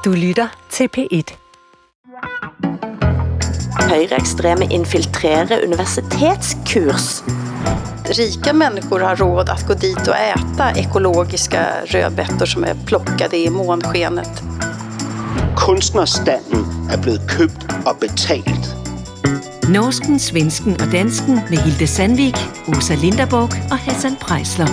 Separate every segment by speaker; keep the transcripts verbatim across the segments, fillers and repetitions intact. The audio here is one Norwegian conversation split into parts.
Speaker 1: Du lytter til P et.
Speaker 2: Højreekstreme infiltrerer universitetskurs.
Speaker 3: Rika människor har råd att gå dit och äta ekologiska rödbetor som är plockade i månskenet.
Speaker 4: Kunstnerstanden er blevet købt og betalt.
Speaker 1: Norsken, svensken og dansken med Hilde Sandvik, Åsa Linderborg og Hassan Preisler.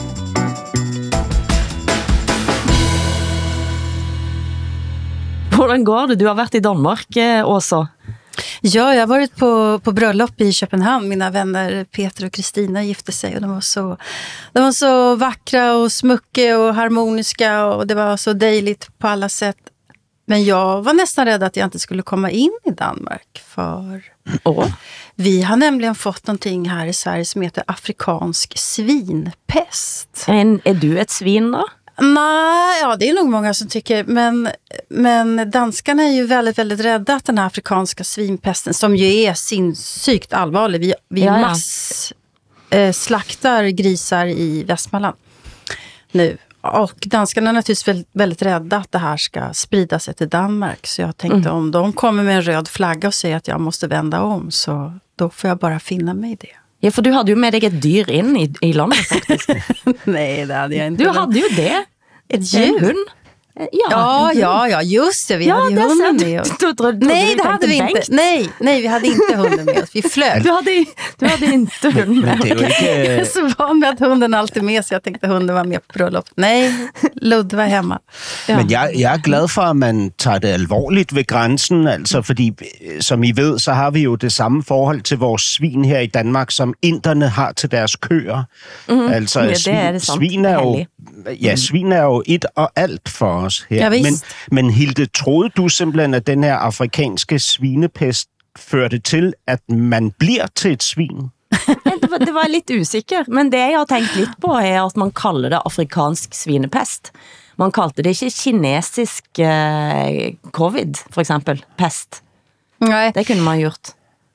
Speaker 2: Hvordan går det? Du har varit i Danmark, Åsa.
Speaker 3: Ja, jag har varit på, på bröllop i Köpenhamn. Mina vänner Peter och Kristina gifte sig och de var så, de var så vackra och smuckiga och harmoniska och det var så dejligt på alla sätt. Men jag var nästan rädd att jag inte skulle komma in i Danmark för
Speaker 2: oh.
Speaker 3: vi har nämligen fått någonting här i Sverige som heter afrikansk svinpest.
Speaker 2: Men är du ett svin då?
Speaker 3: Nej, ja, det är nog många som tycker, men, men danskarna är ju väldigt, väldigt rädda att den här afrikanska svinpesten, som ju är sinnssykt allvarlig, vi, vi
Speaker 2: ja, ja.
Speaker 3: mass eh, slaktar grisar i Västmanland nu. Och danskarna är naturligtvis väldigt, väldigt rädda att det här ska sprida sig till Danmark. Så jag tänkte, mm. om de kommer med en röd flagga och säger att jag måste vända om, så då får jag bara finna mig i det.
Speaker 2: Ja, för du hade ju med dig ett dyr in i, i landet faktiskt.
Speaker 3: Nej, det hade jag inte.
Speaker 2: Du hade ju det.
Speaker 3: Ett djur.
Speaker 2: En hund. Ja,
Speaker 3: ja, ja, ja, just det. Vi
Speaker 2: ja,
Speaker 3: hade ju hunden med oss.
Speaker 2: Du, du, du,
Speaker 3: nej,
Speaker 2: du,
Speaker 3: det hade vi inte.
Speaker 2: Bengt.
Speaker 3: Nej, nej, vi hade inte hunden med oss. Vi flög.
Speaker 2: Du hade, du hade inte hunden med.
Speaker 4: Men det är ju inte...
Speaker 3: Jag är så van med att hunden alltid med, så jag tänkte hunden var med på bröllop. Nej, Lud var hemma.
Speaker 4: Ja. Men jeg, jeg er glad for, at man tager det alvorligt ved grænsen, altså fordi, som I ved, så har vi jo det samme forhold til vores svin her i Danmark, som inderne har til deres køer.
Speaker 2: Mm-hmm.
Speaker 4: Altså,
Speaker 2: ja, det er det
Speaker 4: svin, svin er jo, ja, svin er jo et og alt for os her.
Speaker 3: Ja,
Speaker 4: men, men Hilde, troede du simpelthen, at den her afrikanske svinepest førte til, at man bliver til et svin?
Speaker 2: det, var, det var lidt usikker, men det jeg har tænkt lidt på er, at man kalder det afrikansk svinepest. Man kaldte det ikke kinesisk eh, covid, for eksempel, pest.
Speaker 3: Nej.
Speaker 2: Det kunde man gjort.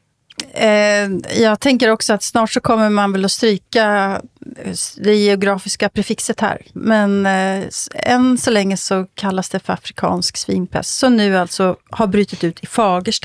Speaker 3: Eh, jag tänker också att snart så kommer man väl att stryka det geografiska prefixet här. Men eh, än så länge så kallas det för afrikansk svinpest. Så nu alltså har brutit ut i Fagersta.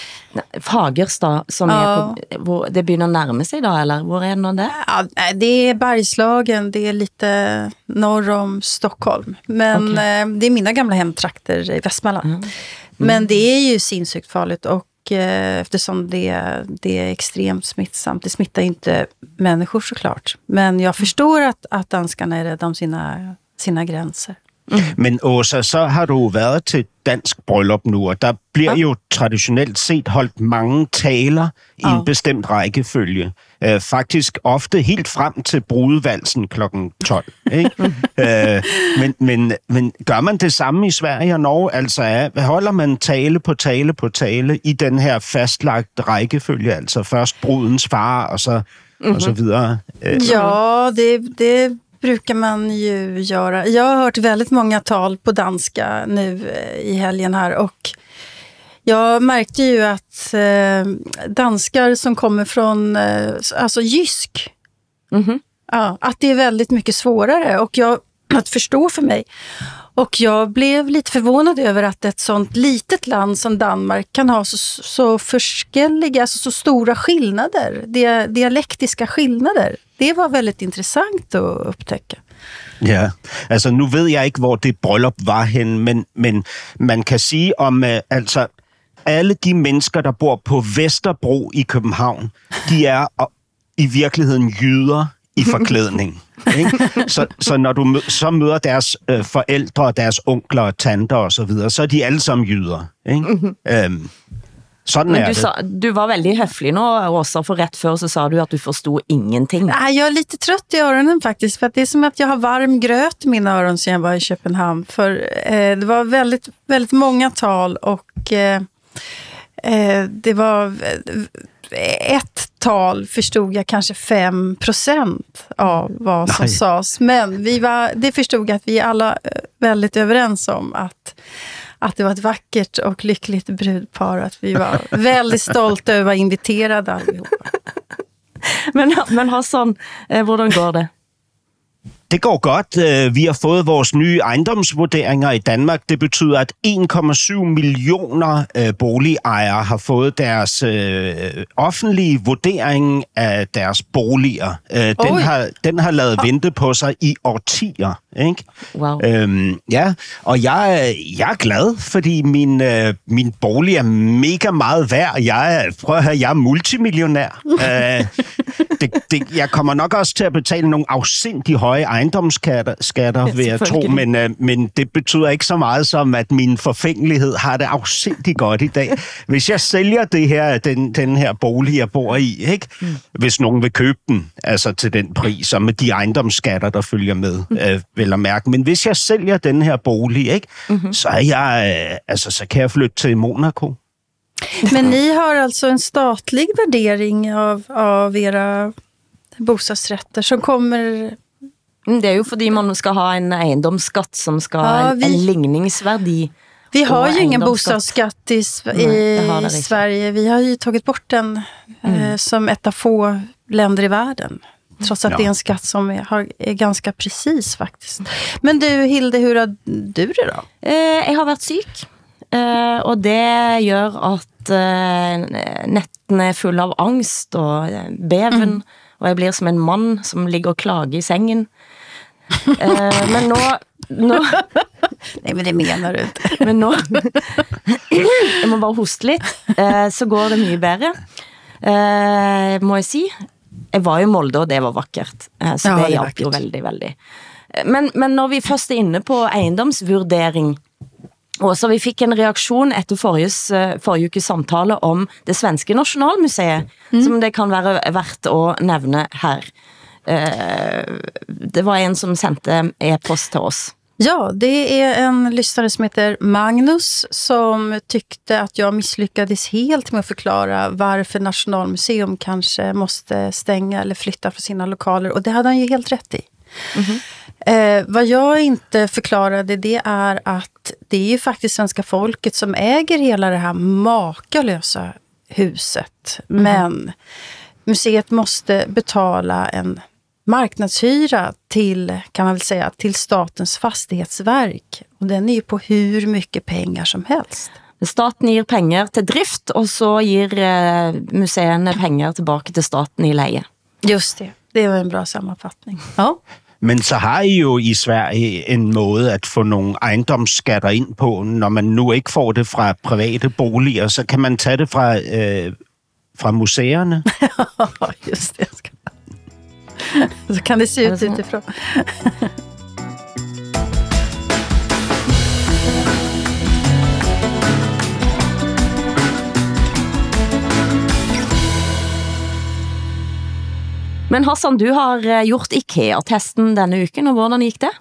Speaker 2: Fagersta, som ja. är på, hvor, det börjar närma sig då, eller hvor är det det?
Speaker 3: Ja, det är Bergslagen, det är lite norr om Stockholm. Men okay. eh, det är mina gamla hemtrakter i Västmanland. Mm. Mm. Men det är ju sinnssykt farligt och eftersom det, det är extremt smittsamt. Det smittar inte människor såklart. Men jag förstår att, att danskarna är rädda om sina, sina gränser.
Speaker 4: Mm. Men Åsa, så har du været til dansk bryllup nu, og der bliver ja. jo traditionelt set holdt mange taler i ja. en bestemt rækkefølge. Uh, faktisk ofte helt frem til brudevalsen klokken tolv. Ikke? uh, men, men, men gør man det samme i Sverige og Norge? Altså er, holder man tale på tale på tale i den her fastlagte rækkefølge? Altså først brudens far og så, mm-hmm. og så videre? Uh,
Speaker 3: ja, det... det brukar man ju göra. Jag har hört väldigt många tal på danska nu i helgen här och jag märkte ju att eh, danskar som kommer från eh, alltså jysk, mm-hmm. ja, att det är väldigt mycket svårare och jag, att förstå för mig. Och jag blev lite förvånad över att ett sånt litet land som Danmark kan ha så, så forskelliga, alltså så stora skillnader, dia, dialektiska skillnader. Det var väldigt intressant att upptäcka.
Speaker 4: Ja, altså nu ved jeg ikke, hvor det bryllup var hen, men, men man kan sige om, uh, altså alle de mennesker, der bor på Vesterbro i København, de er uh, i virkeligheden jyder i forklædning. Ikke? Så, så når du mø- så møder deres øh, forældre, deres onkler og tanter og så videre, så er de alle sammen jyder. Ikke? Mm-hmm. Øhm, sådan
Speaker 2: Men
Speaker 4: er
Speaker 2: du,
Speaker 4: det.
Speaker 2: Sa, du var väldigt höflig nu, Åsa, för rätt för så sa du att du förstod ingenting.
Speaker 3: Nej, jag är lite trött i öronen faktiskt, för att det är som att jag har varm gröt i mina öron sedan jag var i Köpenhamn. För eh, det var väldigt, väldigt många tal och eh, eh, det var... ett tal förstod jag kanske fem procent av vad som Nej. sades. Men vi var, det förstod jag att vi är alla väldigt överens om att, att det var ett vackert och lyckligt brudpar. Att vi var väldigt stolta över att vara inviterade allihopa.
Speaker 2: Men, men Hassan, eh, hvordan går det?
Speaker 4: Det går godt. Vi har fået vores nye ejendomsvurderinger i Danmark. Det betyder, at en komma syv millioner boligejere har fået deres øh, offentlige vurdering af deres boliger. Den har, den har lavet vente på sig i årtier. Ikke?
Speaker 2: Wow.
Speaker 4: Øhm, ja, og jeg, jeg er glad, fordi min, øh, min bolig er mega meget værd. Jeg, prøv at høre, jeg er multimillionær. øh, det, det, jeg kommer nok også til at betale nogle afsindig høje ejendomsskatter, skatter,
Speaker 2: ja,
Speaker 4: vil jeg tro, men, øh, men det betyder ikke så meget som, at min forfængelighed har det afsindig godt i dag. Hvis jeg sælger det her, den, den her bolig, jeg bor i, ikke? Mm. Hvis nogen vil købe den, altså til den pris, og med de ejendomsskatter, der følger med, mm. øh, vil jeg mærke. Men hvis jeg sælger den her bolig, ikke? Mm-hmm. Så er jeg, øh, altså, så kan jeg flytte til Monaco.
Speaker 3: Men ni har alltså en statlig värdering av, av era bostadsrätter som kommer...
Speaker 2: Det er jo fordi man skal ha en ejendomsskatt som skal ha
Speaker 3: ja,
Speaker 2: en,
Speaker 3: vi,
Speaker 2: en ligningsvärdi.
Speaker 3: Vi har ju ingen bostadsskatt i, i, i Sverige. Vi har ju tagit bort den mm. eh, som ett av få länder i världen. Trots att ja. det är en skatt som är, har, är ganska precis faktiskt. Men du Hilde, hur har du det då?
Speaker 2: Eh, jeg har vært syk. Uh, og det gjør at uh, nettene er full av angst og beven, mm. og jeg blir som en mann som ligger og klager i sengen. Uh, men nå... nå
Speaker 3: Nej, men det menar du inte.
Speaker 2: Men nå... jeg må bare hoste litt. Uh, så går det mye bedre. Uh, må jeg si. Jeg var i Molde, og det var vakkert. Uh, så ja, det hjalp jo veldig, veldig. Men, men når vi først er inne på eiendomsvurdering, og så vi fikk en reaktion etter forrige, forrige ukes samtale om det svenske Nationalmuseet, mm. som det kan være verdt å nevne her. Det var en som sendte e-post til oss.
Speaker 3: Ja, det är en lyssnare som heter Magnus som tyckte att jag misslyckades helt med att förklara varför Nationalmuseum kanske måste stänga eller flytta från sina lokaler. Och det hade han ju helt rätt i. Mm-hmm. Eh, vad jag inte förklarade, det är att det är ju faktiskt svenska folket som äger hela det här makalösa huset. Mm. Men museet måste betala en marknadshyra till, kan man väl säga, till Statens fastighetsverk. Och den är ju på hur mycket pengar som helst.
Speaker 2: Staten ger pengar till drift och så ger eh, museerna pengar tillbaka till staten i leje.
Speaker 3: Just det, det var en bra sammanfattning. Ja.
Speaker 4: Men så har I jo i Sverige en måde at få nogle ejendomsskatter ind på, når man nu ikke får det fra private boliger, så kan man tage det fra, øh, fra museerne.
Speaker 3: Just det. Så kan det se ut utifrån.
Speaker 2: Men Hassan, du har gjort IKEA-testen denne uken, og hvordan gik det?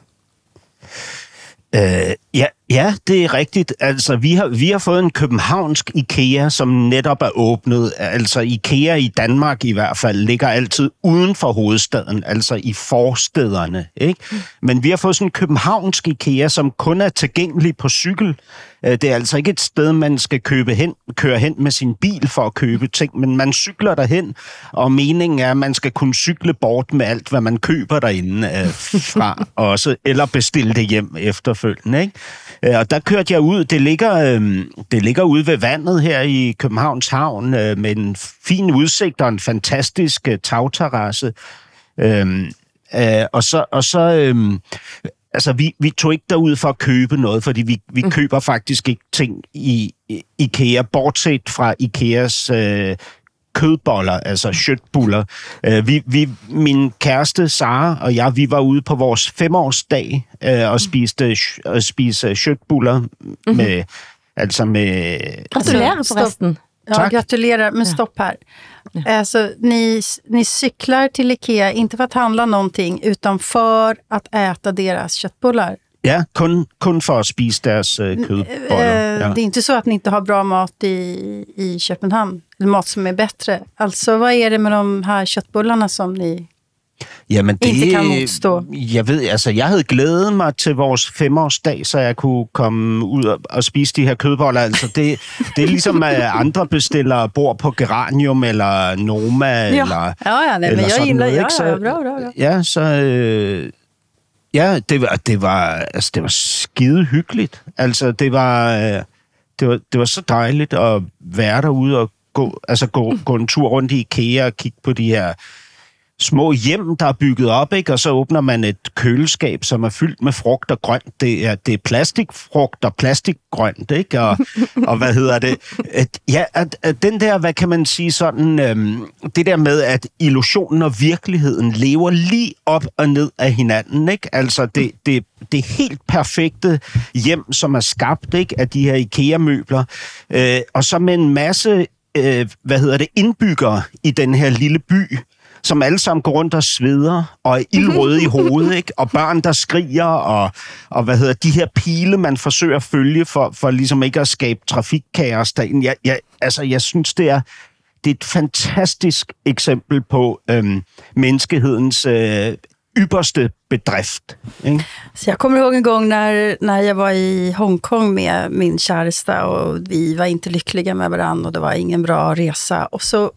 Speaker 4: Uh, ja, ja, det er rigtigt. Altså, vi har, vi har fået en københavnsk IKEA, som netop er åbnet. Altså, IKEA i Danmark i hvert fald ligger altid uden for hovedstaden, altså i forstederne, ikke? Men vi har fået sådan en københavnsk IKEA, som kun er tilgængelig på cykel. Det er altså ikke et sted, man skal købe hen, køre hen med sin bil for at købe ting, men man cykler derhen, og meningen er, at man skal kunne cykle bort med alt, hvad man køber derinde øh, fra også, eller bestille det hjem efterfølgende, ikke? Og der kørte jeg ud. Det ligger, øh, det ligger ude ved vandet her i Københavns Havn øh, med en fin udsigt og en fantastisk øh, tagterrasse. Øh, øh, og så... Og så øh, Altså, vi, vi tog ikke derud for at købe noget, fordi vi, vi mm. køber faktisk ikke ting i, i IKEA, bortset fra IKEAs øh, kødboller, altså köttbullar. Øh, vi, vi, min kæreste, Sara, og jeg, vi var ude på vores femårsdag øh, og spiste, og spiste köttbullar mm-hmm. med, altså med...
Speaker 2: Gratulerer forresten.
Speaker 3: Ja, tack. Gratulerar, men stopp här. Ja. Alltså, ni, ni cyklar till IKEA, inte för att handla någonting, utan för att äta deras köttbullar.
Speaker 4: Ja, kun, kun för att spise deras uh, kødboller. Ja.
Speaker 3: Det är inte så att ni inte har bra mat i, i Köpenhamn, eller mat som är bättre. Alltså, vad är det med de här köttbullarna som ni...
Speaker 4: Jamen det,
Speaker 3: ikke kan modstå.
Speaker 4: Jeg ved, altså jeg havde glædet mig til vores femårsdag, så jeg kunne komme ud og, og spise de her kødboller. Altså det, det er ligesom at andre bestiller bor på Geranium eller Noma
Speaker 3: ja.
Speaker 4: eller
Speaker 3: ja, ja, nej,
Speaker 4: eller
Speaker 3: men jeg
Speaker 4: sådan
Speaker 3: gillar,
Speaker 4: noget,
Speaker 3: ja,
Speaker 4: ikke? Så,
Speaker 3: ja, bra, bra, bra.
Speaker 4: Ja, så øh, Ja, det var, det var, altså, det var skide hyggeligt. Altså, det var, det var, det var så dejligt at være derude og gå, altså, gå, gå en tur rundt i IKEA og kigge på de her små hjem, der er bygget op, ikke? Og så åbner man et køleskab, som er fyldt med frugt og grønt. Det er, det er plastikfrugt og plastikgrønt, ikke? Og, og hvad hedder det? At, ja, at, at den der, hvad kan man sige sådan, øhm, det der med, at illusionen og virkeligheden lever lige op og ned af hinanden, ikke? Altså, det, det, det er helt perfekte hjem, som er skabt, ikke? Af de her IKEA-møbler. Øh, og så med en masse, øh, hvad hedder det, indbyggere i den her lille by, som alle sammen går rundt og sveder, og er ildrøde i hovedet, ikke? Og børn, der skriger, og, og hvad hedder de her pile, man forsøger at følge, for, for ligesom ikke at skabe trafikkaos derinde. Jeg, jeg, altså, jeg synes, det er, det er et fantastisk eksempel på øhm, menneskehedens øh, ypperste bedrift. Ikke?
Speaker 3: Så jag kommer ihåg en gång när, när jag var i Hongkong med min käresta, och vi var inte lyckliga med varandra, och det var ingen bra resa. Och så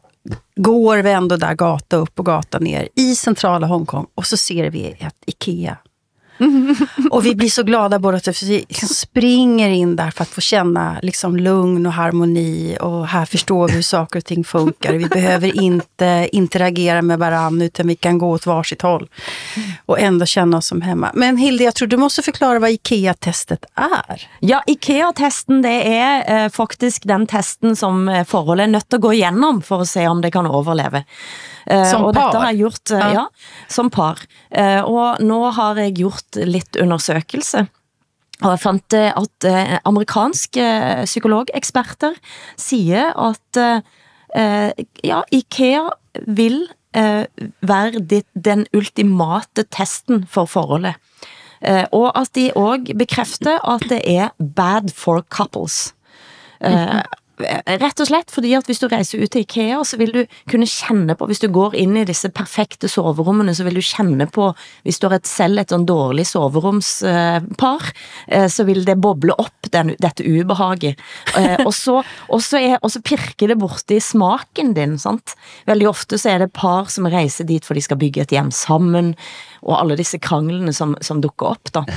Speaker 3: går vi ändå där gata upp och gata ner i centrala Hongkong, och så ser vi ett IKEA. Och vi blir så glada båda att vi springer in där för att få känna liksom lugn och harmoni, och här förstår vi hur saker och ting funkar. Vi behöver inte interagera med varandra, utan vi kan gå åt varsitt håll och ändå känna oss som hemma. Men Hilde, jag tror du måste förklara vad IKEA-testet är.
Speaker 2: Ja, IKEA-testen, det er eh, faktisk den testen som eh, forholdet er nødt til å gå igenom for å se om det kan overleve. Eh,
Speaker 3: som
Speaker 2: og
Speaker 3: par?
Speaker 2: Dette har jeg gjort, eh, ja. ja, som par. Eh, og nå har jeg gjort litt undersøkelse. Og jeg fant eh, at eh, amerikanske eh, psykologeksperter sier at eh, ja, IKEA vil eh, være dit, den ultimate testen for forholdet. Eh, og at de også bekrefter at det er bad for couples. Eh, Rett og slett, fordi at hvis du reiser ut til IKEA, så vil du kunne kjenne på, hvis du går inn i disse perfekte soverommene, så vil du kjenne på, hvis du har et selv et sånn dårlig soveromspar, så vil det boble opp den, dette ubehaget. Og så, og, så er, og så pirker det borte i smaken din, sant? Veldig ofte så er det par som reiser dit for de skal bygge et hjem sammen, og alle disse kranglene som, som dukker opp da.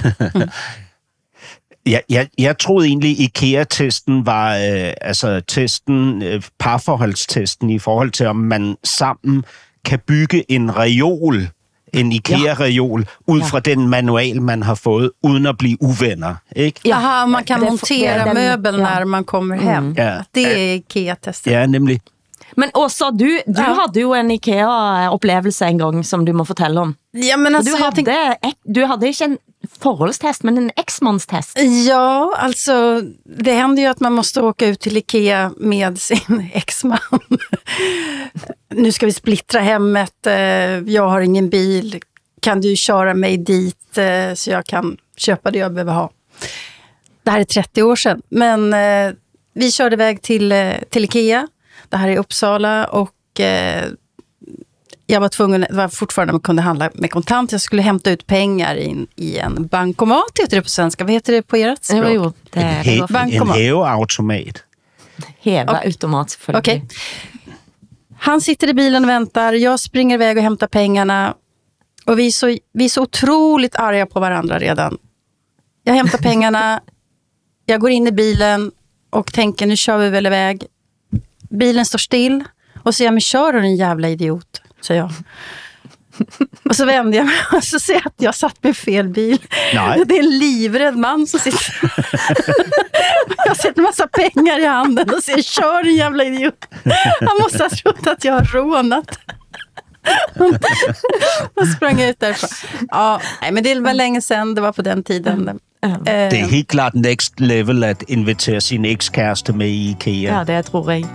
Speaker 4: Ja, jeg, jeg troede egentlig, IKEA-testen var øh, altså testen, øh, parforholdstesten i forhold til, om man sammen kan bygge en reol, en IKEA-reol, ud fra ja. Den manual, man har fået, uden at blive uvenner. Ikke?
Speaker 3: Jaha, man kan det, montera det, möbel ja. När man kommer hem. Mm. Ja. Det er IKEA-testen.
Speaker 4: Ja, nemlig.
Speaker 2: Men også, du, du ja. Hadde jo en IKEA-opplevelse en gang, som du må fortelle om.
Speaker 3: Ja, men altså,
Speaker 2: du, hadde, tenk... du hadde ikke en forholdstest, men en exmanstest.
Speaker 3: Ja, alltså det händer ju att man måste åka ut till IKEA med sin exman. Nu ska vi splittra hemmet, jag har ingen bil, kan du köra mig dit så jag kan köpa det jag behöver ha. Det här är trettio år sedan, men vi körde iväg till, till IKEA. Det här är Uppsala, och jag var tvungen, det var fortfarande man kunde handla med kontant. Jag skulle hämta ut pengar in i en bankomat, heter det på svenska. Vad heter det på ert språk?
Speaker 2: Jo, jo, det är
Speaker 4: en, he- en hävautomat.
Speaker 2: Hävautomat, selvfølgelig.
Speaker 3: Okej. Okay. Han sitter i bilen och väntar. Jag springer iväg och hämtar pengarna. Och vi är så, vi är så otroligt arga på varandra redan. Jag hämtar pengarna. Jag går in i bilen och tänker, nu kör vi väl iväg. Bilen står still. Och så säger jag, men kör du en jävla idiot, säger jag. Och så vänder jag mig och så ser jag att jag satt med fel bil. Nej. Det är en livrädd man som sitter. Jag har sett en massa pengar i handen och säger, kör en jävla idiot. Han måste ha trott att jag har rånat. Och sprang ut därifrån. Ja, nej, men det var länge sedan, det var på den tiden.
Speaker 4: Mm. Det er helt klart next level at invitere sin ekskæreste med i IKEA.
Speaker 2: Ja, det tror jeg.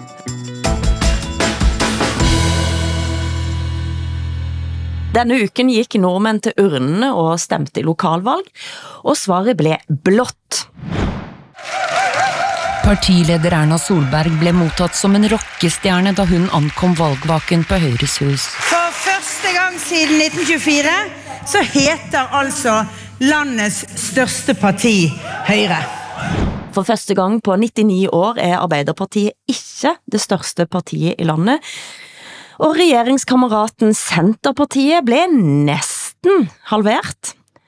Speaker 2: Denne uken gikk nordmenn til urnene og stemte i lokalvalg, og svaret ble blått.
Speaker 5: Partileder Erna Solberg ble mottatt som en rockestjerne da hun ankom valgvaken på Høyres hus.
Speaker 6: For første gang siden nitten tjuefire så heter altså landets største parti Høyre.
Speaker 2: For første gang på nittini år er Arbeiderpartiet ikke det største partiet i landet, og regjeringskameraten Senterpartiet ble nesten halvert.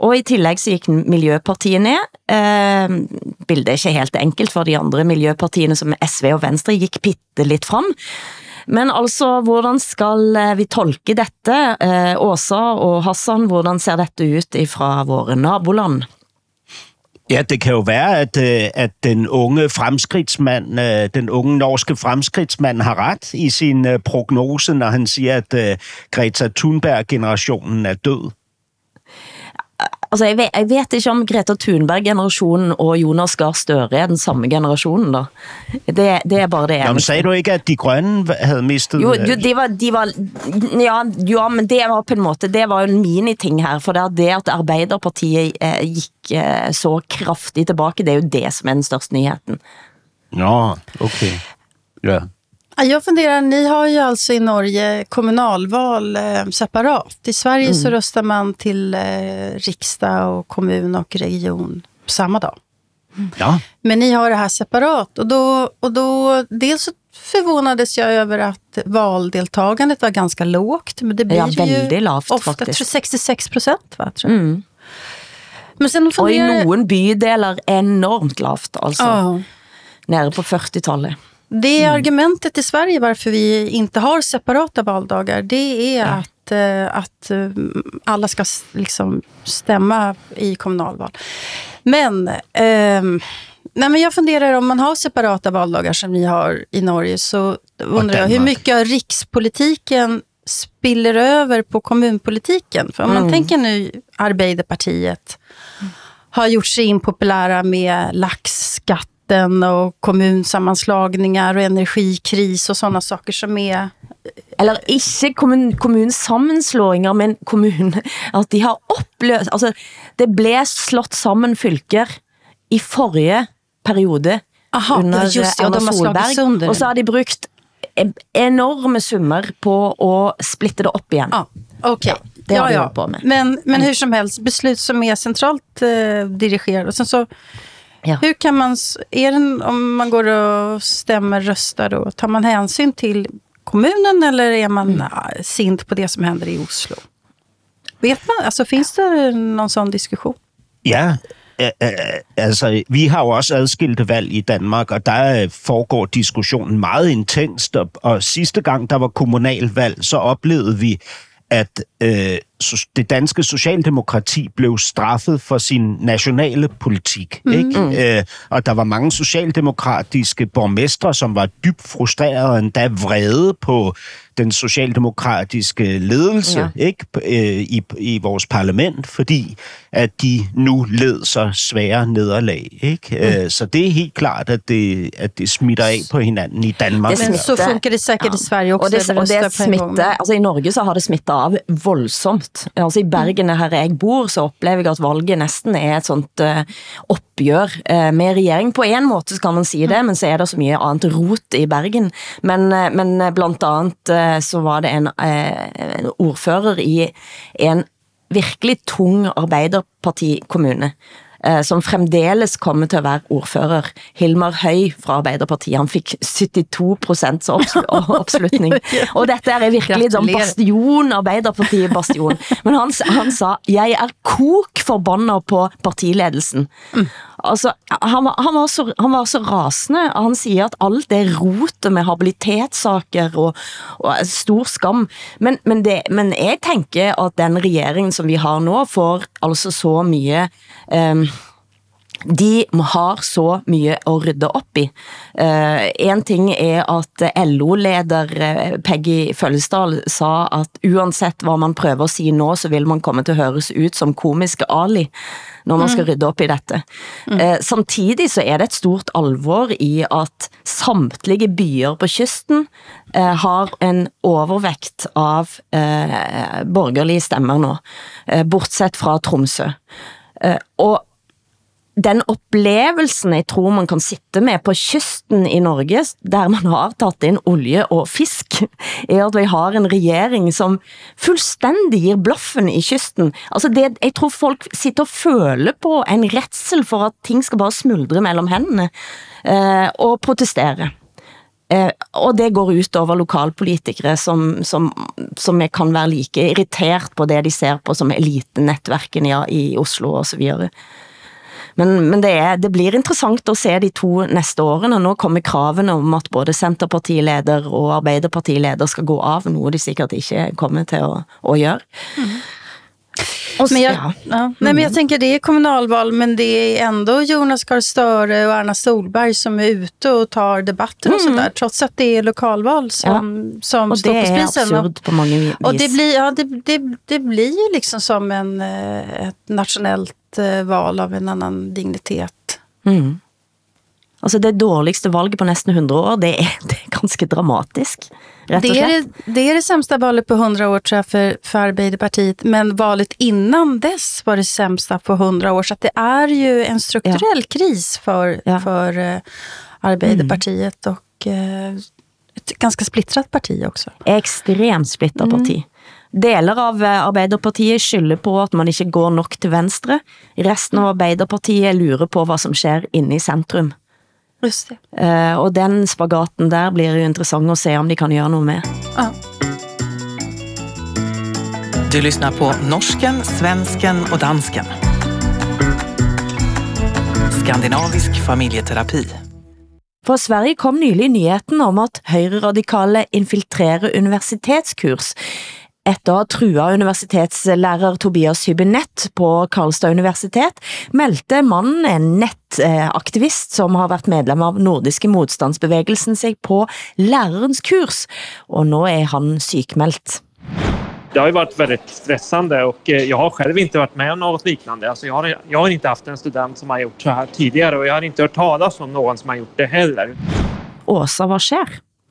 Speaker 2: Og i tillegg så gikk Miljøpartiet ned. Eh, bildet er ikke helt enkelt for de andre miljøpartiene som S V og Venstre gikk bitte litt frem. Men altså, hvordan skal vi tolke dette? Eh, Åsa og Hassan, hvordan ser dette ut fra våre naboland?
Speaker 4: Ja, det kan jo være, at, at den unge fremskridtsmand, den unge norske fremskridtsmand har ret i sin prognose, når han siger, at Greta Thunberg-generationen er død.
Speaker 2: Altså, jeg vet, jeg vet ikke om Greta Thunberg-generationen og Jonas Gahr Støre er den samme generasjonen, da. Det, det er bare det.
Speaker 4: Ja, men sagde du ikke, at de grønne havde mistet?
Speaker 2: Jo, jo de var, de var ja, ja, men det var på en måte, det var jo en miniting her, for det, det at Arbeiderpartiet eh, gikk eh, så kraftig tilbake, det er jo det som er den største nyheten.
Speaker 4: Nå, ok. Ja.
Speaker 3: Jag funderar, ni har ju alltså i Norge kommunalval eh, separat. I Sverige mm. så röstar man till eh, riksdag och kommun och region på samma dag.
Speaker 4: Ja.
Speaker 3: Men ni har det här separat. Och då, och då dels så förvånades jag över att valdeltagandet var ganska lågt. Men det blir
Speaker 2: ja,
Speaker 3: ju
Speaker 2: lavt,
Speaker 3: ofta
Speaker 2: faktiskt.
Speaker 3: sextiosex procent, va, tror jag. Mm.
Speaker 2: Men sen funderar... Och i någon bydelar enormt lavt, alltså.
Speaker 3: Oh.
Speaker 2: Nere på fyrtiotalet.
Speaker 3: Det är mm. argumentet i Sverige varför vi inte har separata valdagar. Det är ja. att, uh, att uh, alla ska liksom stämma i kommunalval. Men, uh, nej, men jag funderar om man har separata valdagar som ni har i Norge, så undrar jag hur mycket av rikspolitiken spiller över på kommunpolitiken. För om mm. man tänker nu Arbeiderpartiet har gjort sig impopulära med laxskatt och kommunsammanslagningar och energikris och sådana saker som är...
Speaker 2: Eller ikke kommun, kommunsammenslåinger, men kommun, at de har oppløst... Altså, det ble slått sammen fylker i forrige periode.
Speaker 3: Aha,
Speaker 2: under
Speaker 3: just det, og
Speaker 2: Erna Solberg, og så har de brukt enorme summer på å splitte det opp igjen.
Speaker 3: Ah, okej. Okay.
Speaker 2: Det har
Speaker 3: ja,
Speaker 2: de
Speaker 3: ja.
Speaker 2: på med.
Speaker 3: Men, men hur som helst, beslut som är centralt eh, dirigerade. Och sen så... Ja. Hur kan man, är det, om man går och stämmer röstar då, tar man hänsyn till kommunen eller är man mm. sint på det som händer i Oslo? Vet man, altså finns det någon sån diskussion?
Speaker 4: Ja, altså vi har jo også adskilte valg i Danmark, og der foregår diskussionen meget intenst, og, og sidste gang der var kommunalvalg, så oplevede vi, at øh, det danske socialdemokrati blev straffet for sin nationale politik. Mm. Ikke? Øh, og der var mange socialdemokratiske borgmestre, som var dybt frustrerede og endda vrede på den socialdemokratiske ledelse ja. ikke? Øh, i, i vores parlament, fordi at de nu led så svære nederlag. Ikke? Mm. Øh, så det er helt klart, at det, at det smitter af på hinanden i Danmark.
Speaker 3: Men så funkar det säkert ja. i Sverige också.
Speaker 2: Og det, og det smitter, altså i Norge så har det smittet av voldsomt. Altså i Bergen, her jeg bor, så opplever jeg at valget nesten er et sånt uh, oppgjør uh, med regjering. På en måte kan man si det, men så er det så mye annet rot i Bergen. Men, uh, men blant annet uh, så var det en, uh, en ordfører i en virkelig tung Arbeiderparti-kommune, som fremdeles kommer til at være ordfører. Hilmar Høy fra Arbeiderpartiet, han fik syttito procent oppslutning. Og dette er virkelig som bastion, Arbeiderpartiet-bastion. Men han, han sa, jeg er kok forbannet på partiledelsen. Mm. Altså, han, var, han, var så, han var så rasende. Han siger, at alt det rotet med habilitetssaker og, og stor skam. Men, men, det, men jeg tænker, at den regeringen, som vi har nå, får altså så mye... Um, de har så mye å rydde opp i. Uh, en ting er at L O-leder uh, Peggy Føllesdal sa at uansett hva man prøver å si nå, så vil man komme til å høres ut som komiske Ali når man skal rydde opp i dette. Mm. Uh, samtidig så er det et stort alvor i at samtlige byer på kysten uh, har en overvekt av uh, borgerlige stemmer nå, uh, bortsett fra Tromsø. Uh, og den opplevelsen jeg tror man kan sitte med på kysten i Norge, der man har tatt inn olje og fisk, er at vi har en regjering som fullstendig gir blaffen i kysten. Altså det, jeg tror folk sitter og føler på en redsel for at ting skal bare smuldre mellom hendene, eh, og protestere. Eh, og det går ut over lokalpolitikere som, som, som kan være like irritert på det de ser på som elitenettverken ja, i Oslo og så videre. Men, men det, er, det blir interessant å se de to neste årene. Nå kommer kravene om at både Senterpartileder og Arbeiderpartileder skal gå av, noe de sikkert ikke kommer til å, å gjøre. Mm.
Speaker 3: Men jag, ja. Ja. Nej, men jag tänker det är kommunalval, men det är ändå Jonas Gahr Støre och Erna Solberg som är ute och tar debatter och mm. sådär, trots att det är lokalval som, ja. som står på spisen.
Speaker 2: Och det är absurd på många vis.
Speaker 3: Och det blir, ja, det, det, det blir ju liksom som en, ett nationellt val av en annan dignitet.
Speaker 2: Mm. Altså det dårligste valget på nästan hundra år, det är, det är ganska dramatiskt.
Speaker 3: Det är det, det är det sämsta valet på hundra år tror jag för, för Arbeiderpartiet, men valet innan dess var det sämsta på hundra år, så att det är ju en strukturell ja. kris för, ja. för uh, Arbeiderpartiet mm. och uh, ett ganska splittrat parti också.
Speaker 2: Extremt splittrat mm. parti. Deler av Arbeiderpartiet skylder på at man ikke går nok til venstre. Resten av Arbeiderpartiet lurer på hvad som sker inne i centrum.
Speaker 3: Just det.
Speaker 2: Uh, og den spagaten der blir jo interessant at se om de kan gjøre noe med.
Speaker 3: Ja.
Speaker 7: Du lyssnar på norsken, svensken och dansken. Skandinavisk familjeterapi.
Speaker 2: For Sverige kom nylig nyheten om at høyreradikale infiltrerer universitetskurs. Etter at trua universitetslærer Tobias Hübinette på Karlstad Universitet meldte mannen, en nettaktivist som har vært medlem av nordiske motstandsbevegelsen, seg på lärarens kurs, og nå er han sykmeldt.
Speaker 8: Det har ju varit väldigt stressande och jag har själv inte varit med om något liknande. Alltså jag, har, jag har inte haft en student som har gjort så här tidigare och jag har inte hört talas om någon som har gjort det heller.
Speaker 2: Åsa, vad sker?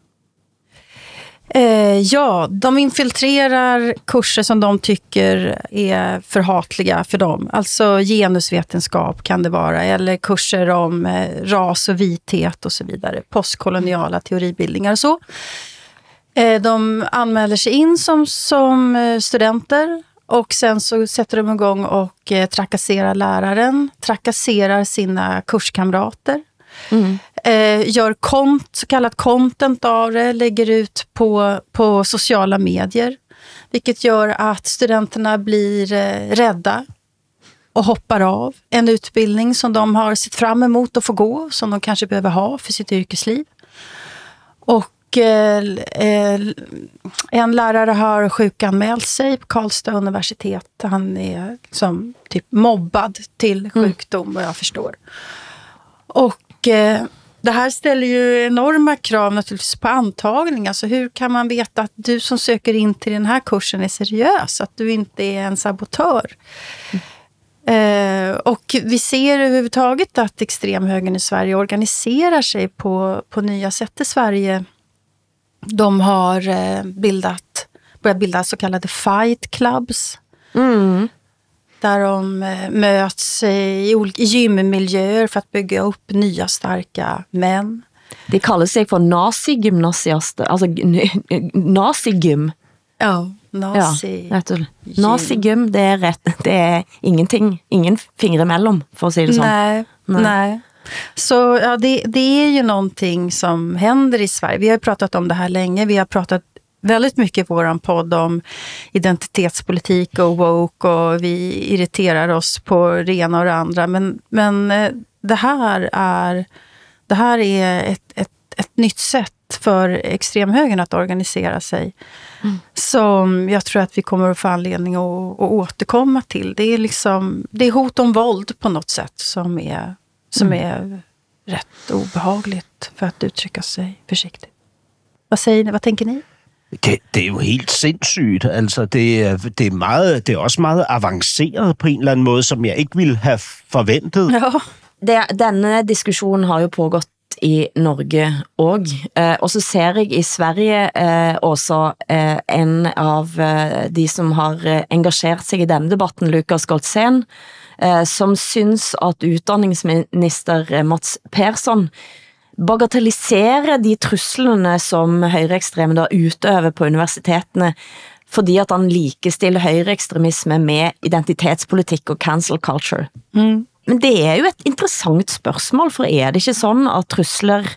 Speaker 3: Eh, ja, de infiltrerar kurser som de tycker är förhatliga för dem. Alltså genusvetenskap kan det vara, eller kurser om eh, ras och vithet och så vidare. Postkoloniala teoribildningar och så. Eh, de anmäler sig in som, som studenter och sen så sätter de igång och eh, trakasserar läraren, trakasserar sina kurskamrater. Mm. Eh, gör kont, så kallat content av det, lägger ut på, på sociala medier, vilket gör att studenterna blir eh, rädda och hoppar av en utbildning som de har sett fram emot att få gå, som de kanske behöver ha för sitt yrkesliv. Och eh, eh, en lärare har sjukanmält sig på Karlstad universitet. Han är liksom typ mobbad till sjukdom, mm. vad jag förstår. Och eh, det här ställer ju enorma krav naturligtvis på antagning. Alltså hur kan man veta att du som söker in till den här kursen är seriös? Att du inte är en sabotör? Mm. Eh, och vi ser överhuvudtaget att extremhögern i Sverige organiserar sig på, på nya sätt i Sverige. De har eh, bildat, börjat bilda så kallade fight clubs. Mm. Där de möts i olika gymmiljöer för att bygga upp nya starka män.
Speaker 2: De kallar sig för nazigymnasiaster, alltså nazigym.
Speaker 3: Ja, nazi.
Speaker 2: Ja, nazigym, det är rätt, det är ingenting, ingen fingre emellan för att säga det så.
Speaker 3: Nej, nej. nej. Så ja, det, det är ju någonting som händer i Sverige. Vi har pratat om det här länge, vi har pratat väldigt mycket i våran podd om identitetspolitik och woke, och vi irriterar oss på det ena och det andra. Men, men det här är, det här är ett, ett, ett nytt sätt för extremhögern att organisera sig. Mm. Som jag tror att vi kommer att få anledning att, att återkomma till. Det är, liksom, det är hot om våld på något sätt som är, som mm. är rätt obehagligt, för att uttrycka sig försiktigt. Vad säger ni? Vad tänker ni?
Speaker 4: Det, det er jo helt sindssygt. Altså, det er, det, er meget, det er også meget avanceret på en eller anden måde, som jeg ikke ville have forventet.
Speaker 2: Ja. Det, denne diskussionen har jo pågått i Norge også, eh, og så ser jeg i Sverige eh, også eh, en av eh, de som har eh, engasjert sig i denne debatten, Lukas Goltzen, eh, som synes at utdanningsminister eh, Mats Persson bagatellisere de truslene som høyreekstreme da utøver på universitetene, fordi at han likestiller høyreekstremisme med identitetspolitikk og cancel culture. Mm. Men det er jo et interessant spørsmål, for er det ikke sånn at trusler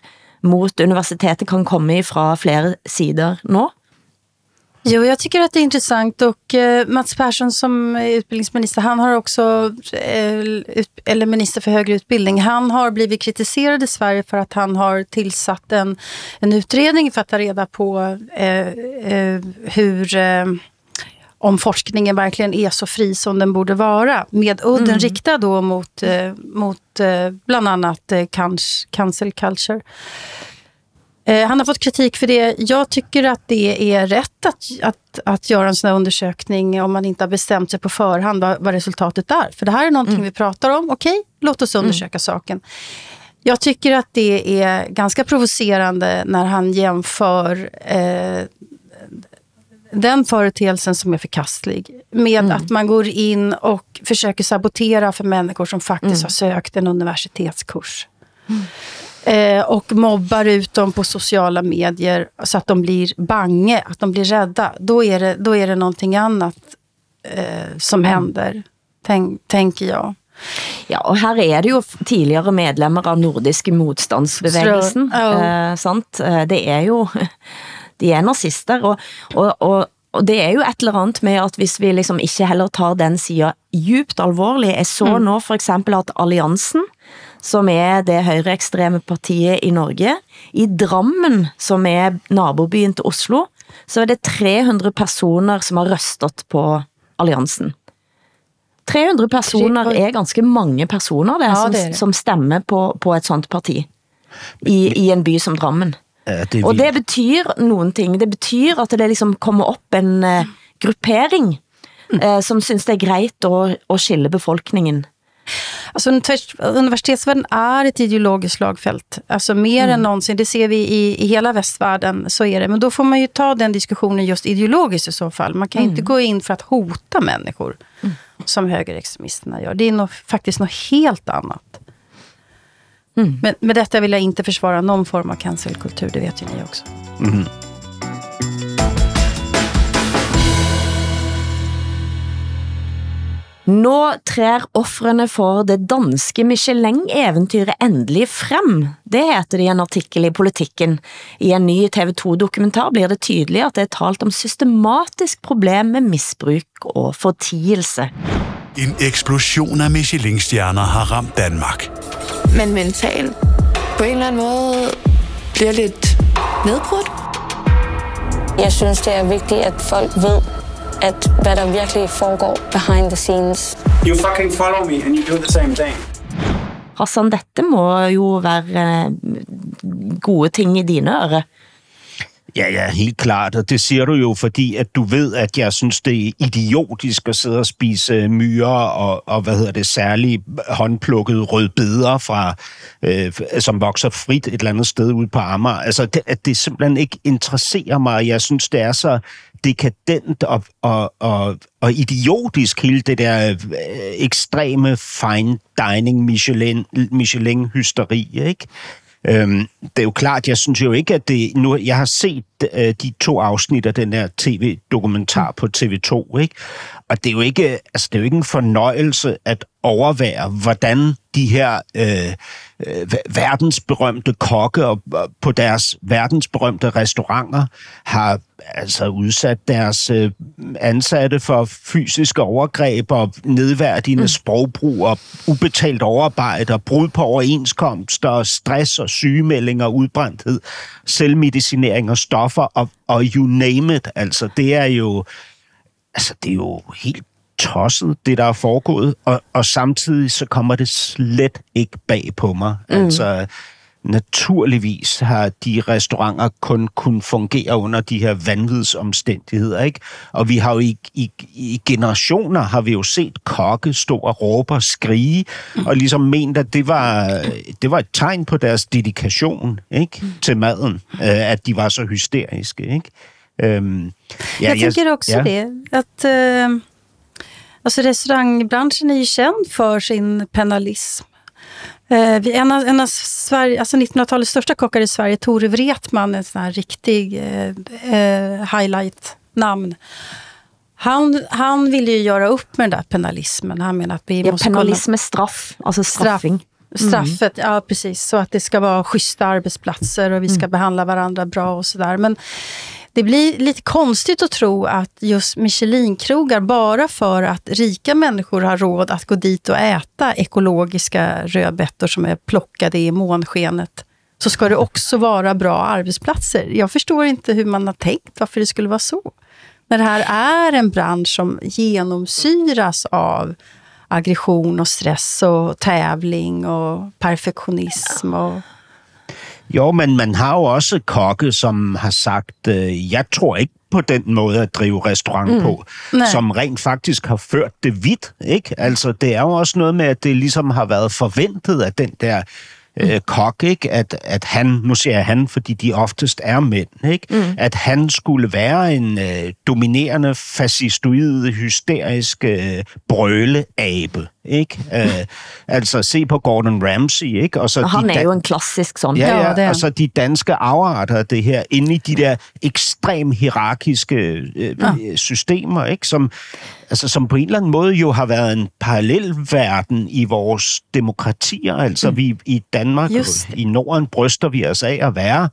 Speaker 2: mot universitetet kan komme fra flere sider nå?
Speaker 3: Jo, jag tycker att det är intressant och eh, Mats Persson som utbildningsminister, han har också, eh, ut, eller minister för högre utbildning, han har blivit kritiserad i Sverige för att han har tillsatt en, en utredning för att ta reda på eh, eh, hur... Eh, om forskningen verkligen är så fri som den borde vara. Med udden mm. riktad då mot, eh, mot eh, bland annat eh, cancel culture. Eh, han har fått kritik för det. Jag tycker att det är rätt att, att, att göra en sån här undersökning om man inte har bestämt sig på förhand vad, vad resultatet är. För det här är någonting mm. vi pratar om. Okej, låt oss undersöka mm. saken. Jag tycker att det är ganska provocerande när han jämför eh, den företeelsen som är förkastlig med mm. att man går in och försöker sabotera för människor som faktiskt mm. har sökt en universitetskurs. Mm. Eh, och mobbar ut dem på sociala medier så att de blir bange, att de blir rädda. Då är det, då är det någonting annat eh, som händer, tänk, tänker jag.
Speaker 2: Ja, og her er det jo tidligere medlemmer av nordiske motstandsbevægelsen, oh. eh, sant? Det er jo, de er nazister, og, og, og, og det er jo et eller andet med at hvis vi liksom ikke heller tar den siden djupt alvorlig, jeg så mm. nå for eksempel at Alliansen, som er det høyreekstreme partiet i Norge, i Drammen, som er nabobyen til Oslo, så er det tre hundre personer som har røstet på Alliansen. tre hundre personer er ganske mange personer det, ja, som, det det. som stemmer på, på et sånt parti i, i en by som Drammen. Ja, det og det betyr noen ting. Det betyr at det liksom kommer opp en uh, gruppering uh, som synes det er greit å, å skille befolkningen.
Speaker 3: Alltså universitetsvärlden är ett ideologiskt slagfält. Alltså mer mm. än någonsin, det ser vi i, i hela västvärlden, så är det. Men då får man ju ta den diskussionen just ideologiskt i så fall. Man kan mm. inte gå in för att hota människor mm. som högerextremisterna gör. Det är nog, faktiskt något helt annat. Mm. Men med detta vill jag inte försvara någon form av cancelkultur, det vet ju ni också. Mm.
Speaker 2: Nå trer offrene for det danske Michelin-eventyret endelig frem. Det heter det i en artikel i Politikken. I en ny T V to-dokumentar blir det tydelig at det er talt om systematisk problem med misbruk og fortielse.
Speaker 9: En eksplosion af Michelin-stjerner har ramt Danmark.
Speaker 10: Men mentalt på en eller anden måde bliver lidt nedbrudt.
Speaker 11: Jeg synes, det er vigtigt, at folk ved, at hvad der virkelig foregår behind the scenes.
Speaker 12: You fucking follow me and you do the same thing.
Speaker 2: Hassan, dette må jo være gode ting i dine ører.
Speaker 4: Ja, ja, helt klart, og det siger du jo, fordi at du ved, at jeg synes, det er idiotisk at sidde og spise myrer og, og hvad hedder det, særligt håndplukkede rødbeder fra, øh, som vokser frit et eller andet sted ude på Amager. Altså, det, at det simpelthen ikke interesserer mig. Jeg synes, det er så dekadent og, og, og, og idiotisk, hele det der øh, ekstreme fine dining Michelin, Michelin-hysteri, ikke? Øhm, det er jo klart, jeg synes jo ikke, at det nu, jeg har set øh, de to afsnit af den her tv-dokumentar på T V to, ikke? Og det er jo ikke, altså det er jo ikke en fornøjelse at overvære, hvordan de her øh, øh, verdensberømte kokke og, og på deres verdensberømte restauranter har altså udsat deres øh, ansatte for fysiske overgreb og nedværdigende mm. sprogbrug og ubetalt overarbejde og brud på overenskomster og stress og sygemeldinger og udbrændthed, selvmedicinering og stoffer og, og you name it. Altså det er jo altså det er jo helt tosset, det der er foregået, og, og samtidig så kommer det slet ikke bag på mig. Mm. Altså, naturligvis har de restauranter kun kun fungere under de her vanvidsomstændigheder, ikke? Og vi har jo i, i, i generationer har vi jo set kokke stå og råbe og skrige, mm. og ligesom ment, at det var, det var et tegn på deres dedikation, ikke? Mm. Til maden, at de var så hysteriske, ikke? Um,
Speaker 3: ja, jag tänker också ja. det, att uh, alltså restaurangbranschen är ju känd för sin penalism. Uh, vi, en, av, en av Sverige, alltså nittonhundratalets största kockar i Sverige, Tore Wretman, en sån här riktig uh, uh, highlight-namn. Han, han ville ju göra upp med den där penalismen. Han menar att vi
Speaker 2: ja,
Speaker 3: måste
Speaker 2: penalism är straff, alltså straffing.
Speaker 3: Straffet, mm. ja precis. Så att det ska vara schyssta arbetsplatser och vi ska mm. behandla varandra bra och sådär. Men det blir lite konstigt att tro att just Michelin-krogar bara för att rika människor har råd att gå dit och äta ekologiska rödbetor som är plockade i månskenet, så ska det också vara bra arbetsplatser. Jag förstår inte hur man har tänkt varför det skulle vara så. När det här är en bransch som genomsyras av aggression och stress och tävling og perfektionism og...
Speaker 4: Jo, men man har jo også kokke, som har sagt, øh, jeg tror ikke på den måde at drive restaurant mm. på, Nej. Som rent faktisk har ført det vidt, ikke? Altså, det er jo også noget med, at det ligesom har været forventet af den der øh, kok, ikke? At, at han, nu siger jeg han, fordi de oftest er mænd, ikke? Mm. At han skulle være en øh, dominerende, fascistoid, hysterisk øh, brøleabe, ikke? Øh, altså, se på Gordon Ramsay, ikke? Og, så
Speaker 2: og han
Speaker 4: de
Speaker 2: er jo en klassisk sådan.
Speaker 4: Ja, ja,
Speaker 2: ja det er.
Speaker 4: Og så de danske afarter af det her, inde i de der ekstrem hierarkiske øh, ja. systemer, ikke? Som, altså, som på en eller anden måde jo har været en parallelverden i vores demokratier. Altså, mm. vi i Danmark og i Norden bryster vi os af at være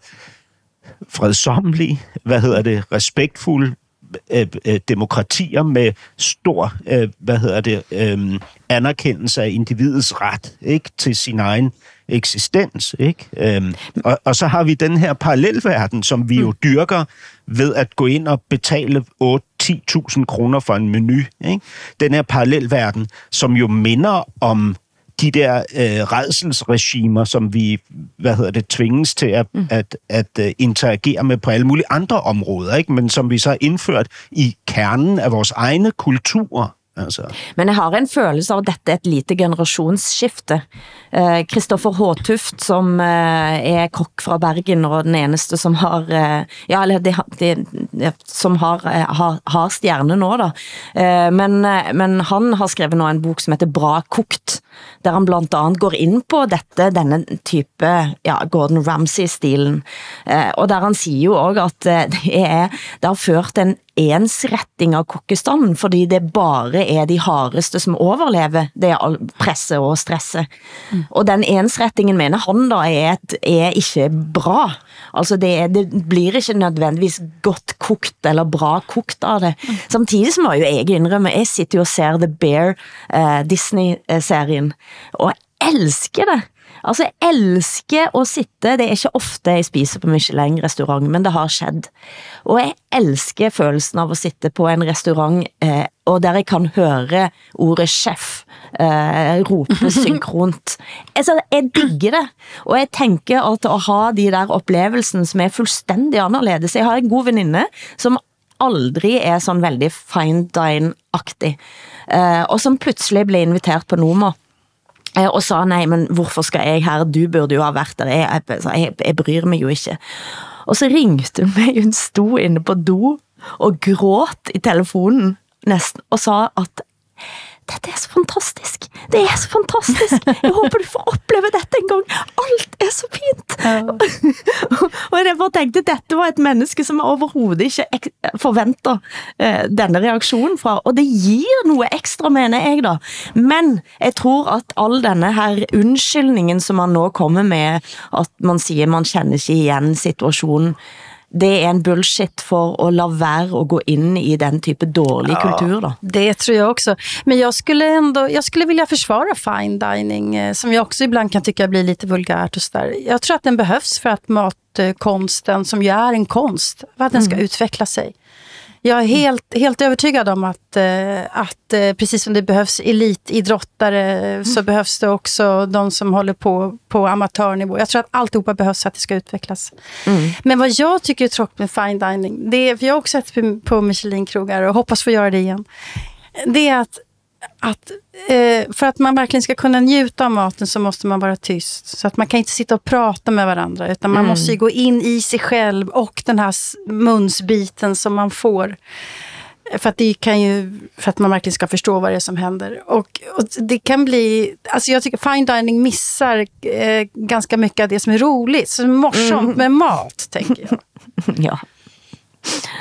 Speaker 4: fredsommelige, hvad hedder det, respektfulde, Øh, øh, demokratier med stor, øh, hvad hedder det, øh, anerkendelse af individets ret, ikke, til sin egen eksistens, ikke? Øhm, og, og så har vi den her parallelverden, som vi jo dyrker ved at gå ind og betale otte til ti tusind kroner for en menu, ikke? Den her parallelverden, som jo minder om de der øh, rædselsregimer, som vi, hvad hedder det, tvinges til at, mm. at, at uh, interagere med på alle mulige andre områder, ikke? Men som vi så har indført i kernen af vores egne kulturer. Altså.
Speaker 2: Men jeg har en følelse av at dette er et lite generationsskifte. Kristoffer eh, Håtuft, som eh, er kokk fra Bergen, og den eneste som har, eh, ja, eller det, det, som har, eh, har, har stjerne nå da. Eh, men, men han har skrevet nå en bok som heter Bra kokt, der han blandt andet går ind på dette, denne type, ja, Gordon Ramsay-stilen. Eh, og der han siger jo også, at det, er, det har ført en ensretting av kokkestanden, fordi det bare er de hardeste som overlever det presse og stresse. Mm. Og den ensrettingen mener han da er, et, er ikke bra. Altså det, er, det blir ikke nødvendigvis godt kokt eller bra kokt av det. Mm. Samtidig som jeg jo jeg indrømme, jeg sitter jo og ser The Bear uh, Disney-serien, og jeg elsker det. Altså, jeg elsker at sitte, det er ikke ofte jeg spiser på Michelin-restaurant, men det har skjedd. Og jeg elsker følelsen av at sitte på en restaurant, eh, og der jeg kan høre ordet chef eh, rope synkront. Altså, jeg digger det. Og jeg tenker at å ha de der opplevelsen som er fuldstændig anderledes. Jeg har en god veninde, som aldrig er sådan veldig fine dine-aktig, eh, og som pludselig blev inviteret på Noma, og sa, nej, men hvorfor skal jeg her? Du burde jo ha været der. Jeg, jeg, jeg, jeg bryr mig jo ikke. Og så ringte hun mig, hun stod inde på do og gråt i telefonen næsten, og sa at dette er så fantastisk. Det er så fantastisk. Jeg håber du får opleve dette en gang. Alt er så fint. Ja. Og jeg bare tenkte, dette var et menneske som overhovedet ikke forventer uh, denne reaktionen fra. Og det gir noe ekstra, mener jeg da. Men jeg tror at all denne her undskyldningen som man nå kommer med, at man siger, man känner ikke igen situationen, det er en bullshit for at la være at gå in i den type dårlig ja, kultur då.
Speaker 3: Det tror jag också. Men jag skulle ändå, jag skulle vilja försvara fine dining, eh, som jag också ibland kan tycka blir lite vulgärt och så där. Jag tror att den behövs för att matkonsten, som ju är en konst, för att den ska mm. utveckla sig. Jag är helt, helt övertygad om att, att precis som det behövs elitidrottare mm. så behövs det också de som håller på på amatörnivå. Jag tror att alltihopa behövs för att det ska utvecklas. Mm. Men vad jag tycker är tråkigt med fine dining, det är, för jag har också sett på Michelin-krogar och hoppas få göra det igen, det är att att eh, för att man verkligen ska kunna njuta av maten så måste man vara tyst. Så att man kan inte sitta och prata med varandra, utan man mm. måste ju gå in i sig själv och den här munsbiten som man får. För att det kan ju, för att man verkligen ska förstå vad det är som händer. Och, och det kan bli, alltså jag tycker fine dining missar eh, ganska mycket av det som är roligt. Så morsomt mm. med mat, tänker jag.
Speaker 2: Ja.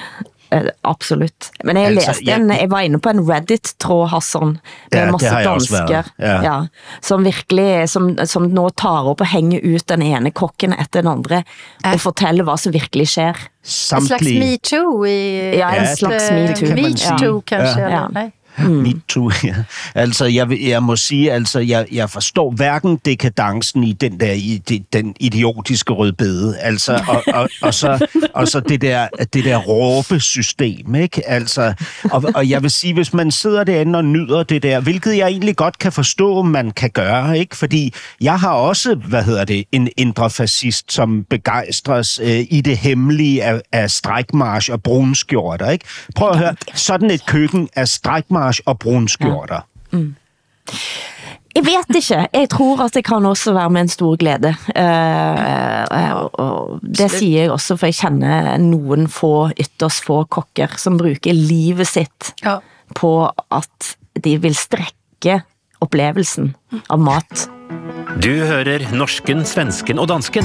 Speaker 2: Eh, absolut. Men jeg
Speaker 4: Altså,
Speaker 2: læste
Speaker 4: jeg-
Speaker 2: en, jeg var inde på en Reddit-tråd, Hassan, med
Speaker 4: Ja, det
Speaker 2: masse
Speaker 4: har jeg også
Speaker 2: dansker,
Speaker 4: været. Ja.
Speaker 2: ja, som virkelig, som, som nå tar op og hænger ut den ene kokken efter den andre, og fortæller, hvad som virkelig sker.
Speaker 3: En slags MeToo i...
Speaker 2: Ja, en slags
Speaker 3: eh,
Speaker 2: MeToo.
Speaker 3: MeToo kanske,
Speaker 4: Ja.
Speaker 3: eller? Nej.
Speaker 2: Mm.
Speaker 4: Me too, ja. Altså, jeg, vil- jeg må sige, altså, jeg, jeg forstår hverken dekadencen i den der i, de, den idiotiske rødbede, altså, og, og, og, så, og så det der, det der råbesystem, ikke? Altså, og, og jeg vil sige, hvis man sidder derinde og nyder det der, hvilket jeg egentlig godt kan forstå, man kan gøre, ikke? Fordi jeg har også, hvad hedder det, en indre fascist, som begejstres øh, i det hemmelige af, af strækmarsch og brunskjorter, ikke? Prøv at høre, sådan et køkken af strækmarsch og brunskjorter.
Speaker 2: Ja. Mm. Jeg vet ikke. Jeg tror at det kan også være med en stor glæde. Uh, uh, og det siger jeg også, for jeg kender nogen få, ytterst få kokker, som bruger livet sitt
Speaker 3: ja.
Speaker 2: på at de vil strække oplevelsen av mat.
Speaker 13: Du hører norsken, svensken og dansken.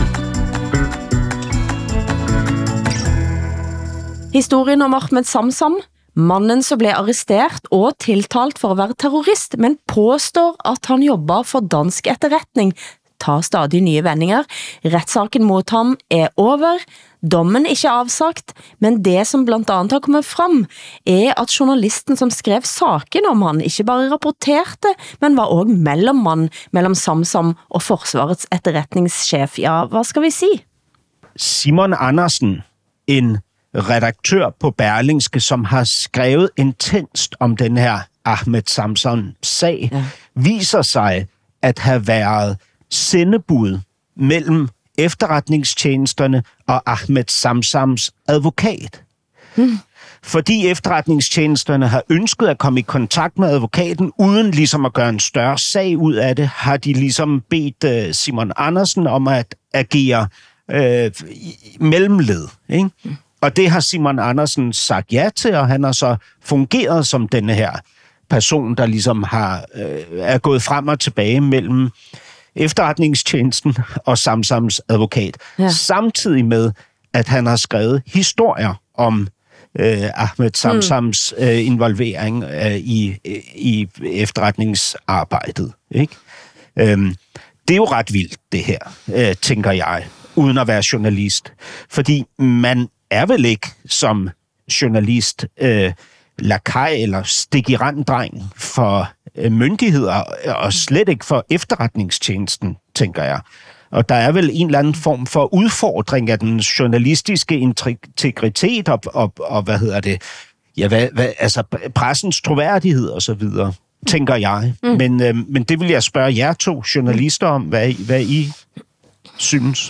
Speaker 2: Historien om Ahmed Samsam, mannen som blev arrestert og tiltalt for at være terrorist, men påstår at han jobber for dansk etterretning, tar stadig nye vendinger. Retssaken mot ham er over, dommen ikke avsagt, men det som blandt andet har kommet frem, er at journalisten som skrev saken om han ikke bare rapporterte, men var også mellommann mellom Samsam og Forsvarets etterretningschef. Ja, hvad skal vi si?
Speaker 4: Simon Andersen, en redaktør på Berlingske, som har skrevet intenst om den her Ahmed Samsam-sag, ja. viser sig at have været sendebud mellem efterretningstjenesterne og Ahmed Samsams advokat. Hmm. Fordi efterretningstjenesterne har ønsket at komme i kontakt med advokaten, uden ligesom at gøre en større sag ud af det, har de ligesom bedt uh, Simon Andersen om at agere uh, mellemled, ikke? Hmm. Og det har Simon Andersen sagt ja til, og han har så fungeret som denne her person, der ligesom har, øh, er gået frem og tilbage mellem efterretningstjenesten og Samsams advokat. Ja. Samtidig med, at han har skrevet historier om øh, Ahmed Samsams øh, involvering øh, i, i efterretningsarbejdet. Ikke? Øhm, det er jo ret vildt, det her, øh, tænker jeg, uden at være journalist. Fordi man er vel ikke som journalist øh, lakaj eller stikiranddreng for øh, myndigheder, og slet ikke for efterretningstjenesten, tænker jeg. Og der er vel en eller anden form for udfordring af den journalistiske integritet og, og, og hvad hedder det, ja, hvad, hvad, altså pressens troværdighed og så videre, tænker jeg. Mm. Men, øh, men det vil jeg spørge jer to journalister om, hvad, hvad I synes.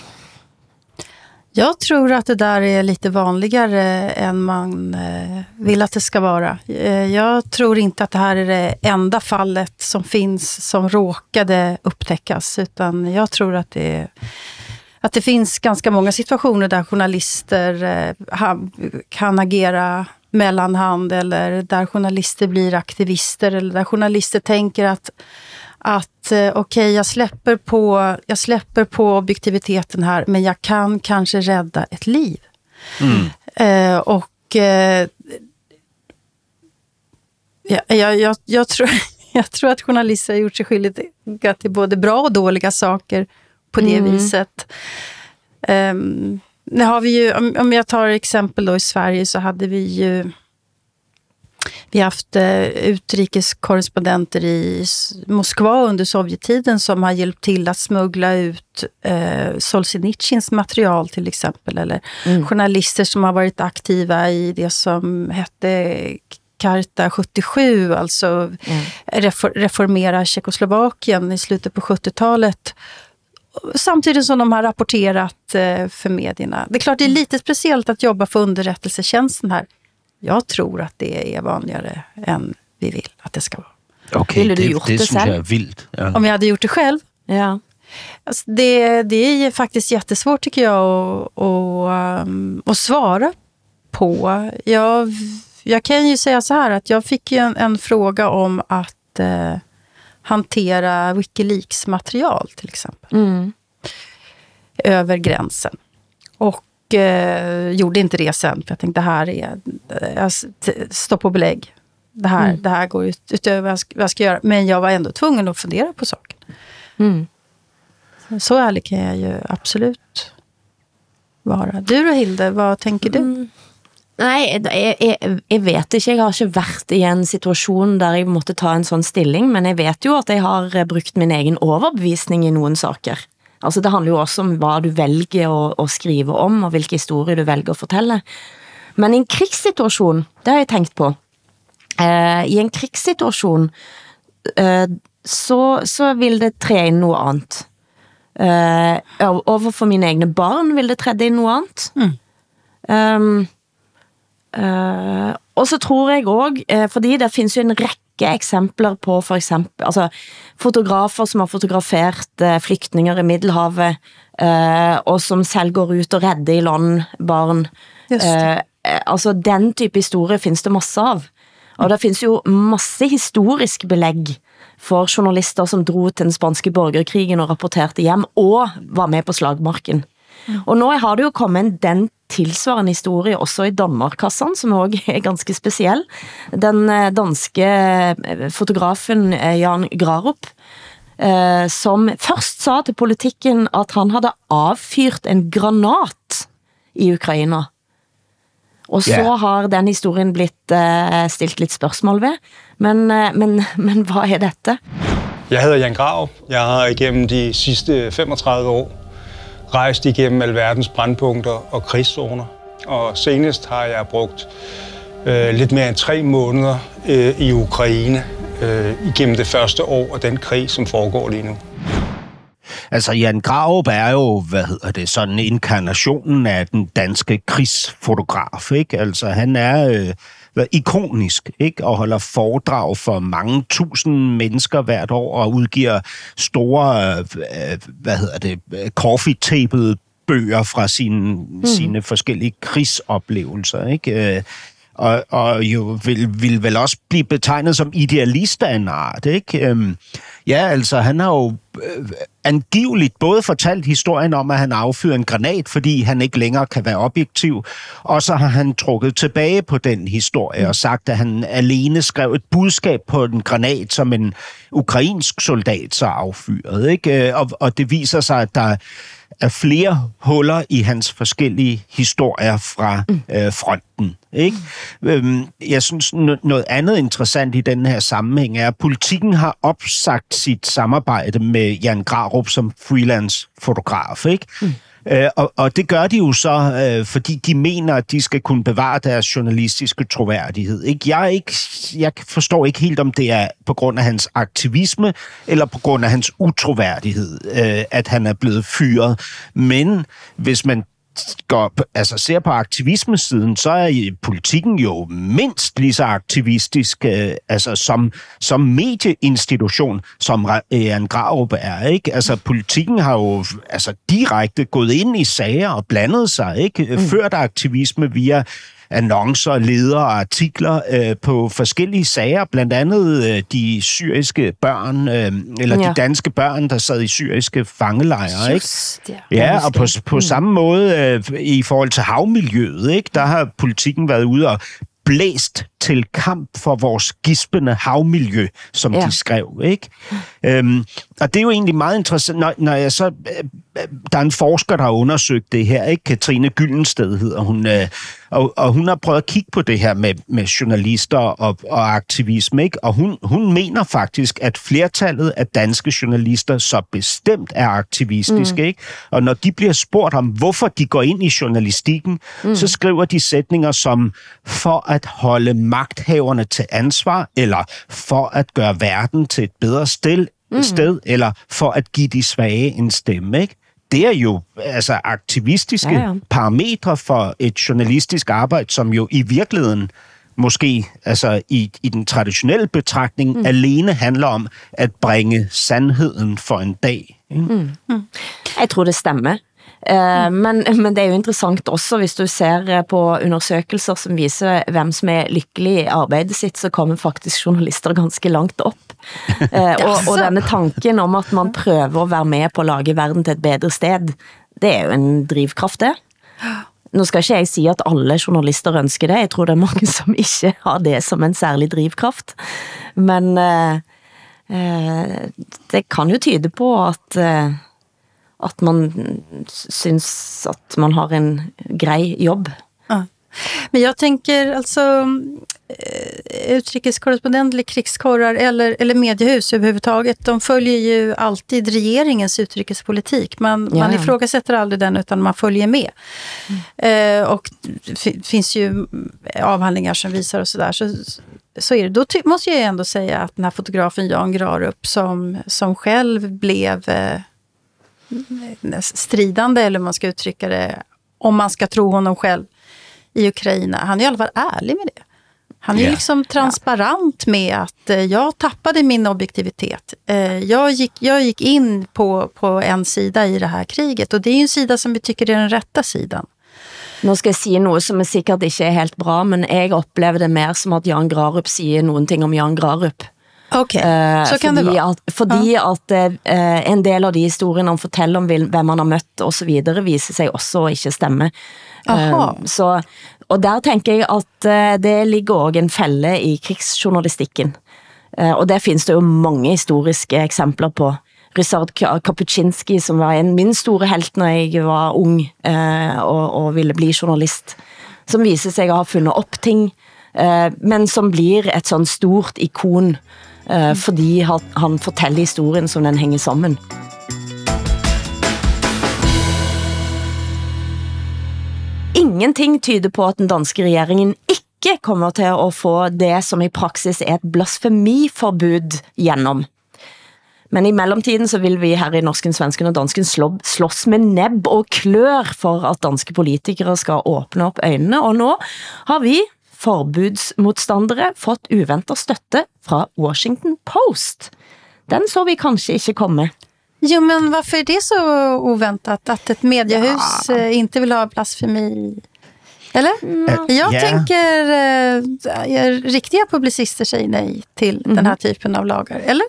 Speaker 3: Jag tror att det där är lite vanligare än man eh, vill att det ska vara. Eh, jag tror inte att det här är det enda fallet som finns som råkade upptäckas, utan jag tror att det, att det finns ganska många situationer där journalister eh, ha, kan agera mellanhand, eller där journalister blir aktivister, eller där journalister tänker att att eh, okej, okay, jag släpper på jag släpper på objektiviteten här, men jag kan kanske rädda ett liv. Mm. Eh, och eh, ja, jag, jag, jag, tror, jag tror att journalister har gjort sig skyldiga till både bra och dåliga saker på det mm. viset. Um, nu har vi ju, om, om jag tar exempel då i Sverige, så hade vi ju Vi har haft eh, utrikeskorrespondenter i Moskva under Sovjettiden som har hjälpt till att smuggla ut eh, Solzhenitsyns material till exempel. Eller mm. journalister som har varit aktiva i det som hette Karta sjuttiosju, alltså mm. refor- reformera Tjeckoslovakien i slutet på sjuttiotalet. Samtidigt som de har rapporterat eh, för medierna. Det är klart det är lite speciellt att jobba för underrättelsetjänsten här. Jag tror att det är vanligare än vi vill att det ska vara.
Speaker 4: Okej, okay, det, det, det syns jag är vilt. Ja.
Speaker 3: Om jag hade gjort det själv?
Speaker 2: Ja.
Speaker 3: Alltså det, det är faktiskt jättesvårt tycker jag att, att, um, att svara på. Jag, jag kan ju säga så här att jag fick ju en, en fråga om att uh, hantera Wikileaks material till exempel. Mm. Över gränsen. Och och eh, gjorde inte det sen. För jag tänkte, det här är jag stopp på belägg. Det här, mm. det här går ut, utöver vad jag, ska, vad jag ska göra. Men jag var ändå tvungen att fundera på saken. Mm. Så, så ärlig kan jag ju absolut vara. Du då, Hilde, vad tänker du? Mm.
Speaker 2: Nej, jeg, jeg, jeg vet ikke, jeg har ikke vært i en situation der jeg måtte ta en sånn stilling, men jeg vet jo at jeg har brukt min egen overbevisning i noen saker. Altså det handler jo også om hva du velger å, å skrive om, og hvilke historier du velger å fortelle. Men i en krigssituasjon, det har jeg tenkt på, eh, i en krigssituasjon eh, så, så vil det tre inn noe annet. Eh, overfor mine egne barn vil det tredje inn noe annet. Mm. Um, Uh, og så tror jeg også, uh, fordi det finnes jo en rekke eksempler på for eksempel, altså fotografer som har fotografert uh, flyktninger i Middelhavet, uh, og som selv går ut og redder i land barn. Uh, uh, altså den type historie finnes det masse av. Og det finnes jo masse historisk belegg for journalister som dro til den spanske borgerkrigen og rapporterte hjem, og var med på slagmarken. Mm. Og nå har det jo kommet den tilsvarende historie også i Danmarkassan, som også er ganske spesiell. Den danske fotografen Jan Grarup, eh, som først sa til politikken at han hadde avfyrt en granat i Ukraina. Og så yeah. har den historien blitt eh, stilt litt spørsmål ved. Men, eh, men, men hvad er dette?
Speaker 14: Jeg hedder Jan Grarup. Jeg har igennem de sidste femogtredive år rejst igennem alverdens brandpunkter og krigszoner. Og senest har jeg brugt øh, lidt mere end tre måneder øh, i Ukraine øh, igennem det første år af den krig, som foregår lige nu.
Speaker 4: Altså, Jan Grarup er jo, hvad hedder det, sådan inkarnationen af den danske krigsfotograf, ikke? Altså, han er øh, ikonisk, ikke? Og holder foredrag for mange tusind mennesker hvert år og udgiver store, øh, hvad hedder det, coffee table bøger fra sine, mm. sine forskellige krigsoplevelser, ikke? Og, og jo vil, vil vel også blive betegnet som idealist af en art, ikke? Øhm, ja, altså, han har jo øh, angiveligt både fortalt historien om, at han affyrer en granat, fordi han ikke længere kan være objektiv, og så har han trukket tilbage på den historie og sagt, at han alene skrev et budskab på en granat, som en ukrainsk soldat så affyrede, ikke? Og, og det viser sig, at der er flere huller i hans forskellige historier fra øh, fronten. Ikke? Øhm, jeg synes, noget andet interessant i den her sammenhæng er, at Politiken har opsagt sit samarbejde med Jan Grarup som freelance-fotograf. Ikke? Mm. Øh, og, og det gør de jo så, øh, fordi de mener, at de skal kunne bevare deres journalistiske troværdighed. Ikke? Jeg, er ikke, jeg forstår ikke helt, om det er på grund af hans aktivisme, eller på grund af hans utroværdighed, øh, at han er blevet fyret. Men hvis man går, altså ser på aktivismesiden, så er Politiken jo mindst lige så aktivistisk øh, altså som, som medieinstitution, som Jan Grarup er, ikke? Altså Politiken har jo altså direkte gået ind i sager og blandet sig, ikke? Mm. Ført aktivisme via annoncer, ledere og artikler øh, på forskellige sager, blandt andet øh, de syriske børn, øh, eller ja. de danske børn, der sad i syriske fangelejre, ikke? Ja, ja, og på, på mm. samme måde øh, i forhold til havmiljøet, ikke? Der har Politiken været ude og blæst til kamp for vores gispende havmiljø, som ja. de skrev, ikke? Øhm, og det er jo egentlig meget interessant, når, når jeg så... Øh, der er en forsker, der har undersøgt det her, ikke? Katrine Gyldensted hedder hun, øh, og, og hun har prøvet at kigge på det her med, med journalister og, og aktivisme, ikke? Og hun, hun mener faktisk, at flertallet af danske journalister så bestemt er aktivistiske, mm. ikke? Og når de bliver spurgt om, hvorfor de går ind i journalistikken, mm. så skriver de sætninger som, for at holde magthaverne til ansvar, eller for at gøre verden til et bedre sted, mm. sted eller for at give de svage en stemme, ikke? Det er jo altså aktivistiske ja, ja. parametre for et journalistisk arbejde, som jo i virkeligheden måske altså i, i den traditionelle betragtning mm. alene handler om at bringe sandheden for en dag.
Speaker 2: Mm. Mm. Jeg tror det stemmer. Uh, men, men det er jo interessant også, hvis du ser på undersøkelser som viser hvem som er lykkelig i arbejdet sitt, så kommer faktisk journalister ganske langt op. Uh, og, og denne tanken om at man prøver at være med på at lage verden til et bedre sted, det er jo en drivkraft det. Nå skal ikke jeg si at alle journalister ønsker det. Jeg tror det er mange som ikke har det som en særlig drivkraft. Men eh, eh, det kan jo tyde på at, eh, at man synes at man har en grei jobb.
Speaker 3: Ja. Men jag tänker alltså utrikeskorrespondent eller krigskorrar eller, eller mediehus överhuvudtaget, de följer ju alltid regeringens utrikespolitik. Man, ja. man ifrågasätter aldrig den utan man följer med. Mm. Eh, och det finns ju avhandlingar som visar och sådär. Så, så är det. Då ty- måste jag ändå säga att den här fotografen Jan Grarup som, som själv blev eh, stridande, eller man ska uttrycka det, om man ska tro honom själv, i Ukraina. Han är i alla fall ärlig med det. Han är yeah. liksom transparent med att eh, jag tappade min objektivitet. Eh, jag, gick, jag gick in på, på en sida i det här kriget, och det är ju en sida som vi tycker är den rätta sidan.
Speaker 2: Nå skal jeg sige noget, som er sikkert ikke er helt bra, men jeg oplever det mer som at Jan Grarup siger nogen ting om Jan Grarup.
Speaker 3: Okay, uh, så kan
Speaker 2: fordi
Speaker 3: det være.
Speaker 2: At, fordi ja. at uh, en del av de historierne han fortæller om hvem han har mødt og så videre, viser sig også at ikke stemme. Uh, så, og der tænker jeg at uh, det ligger også en fælde i krigsjournalistikken. Uh, og der findes det jo mange historiske eksempler på. Ryszard Kapuscinski, som var en min store helt, når jeg var ung uh, og, og ville bli journalist, som viser sig at have fundet op ting, uh, men som blir et sådan stort ikon, Uh, fordi han, han fortæller historien, som den hænger sammen. Ingenting tyder på, at den danske regeringen ikke kommer til at få det, som i praksis er et blasfemiforbud gjennom. Men i mellemtiden så vil vi her i Norsken, Svensken og Dansken slå, slås med nebb og klør for, at danske politikere skal åbne op øjnene, og nu har vi forbudsmodstandere fått uventet støtte fra Washington Post. Den så vi kanskje ikke komme.
Speaker 3: Jo, men varför är det så oväntat att ett mediehus ja. inte vill ha blasfemi? Eller? Mm. Jag yeah. tänker eh, riktiga publicister säger nej till mm. den här typen av lagar, eller?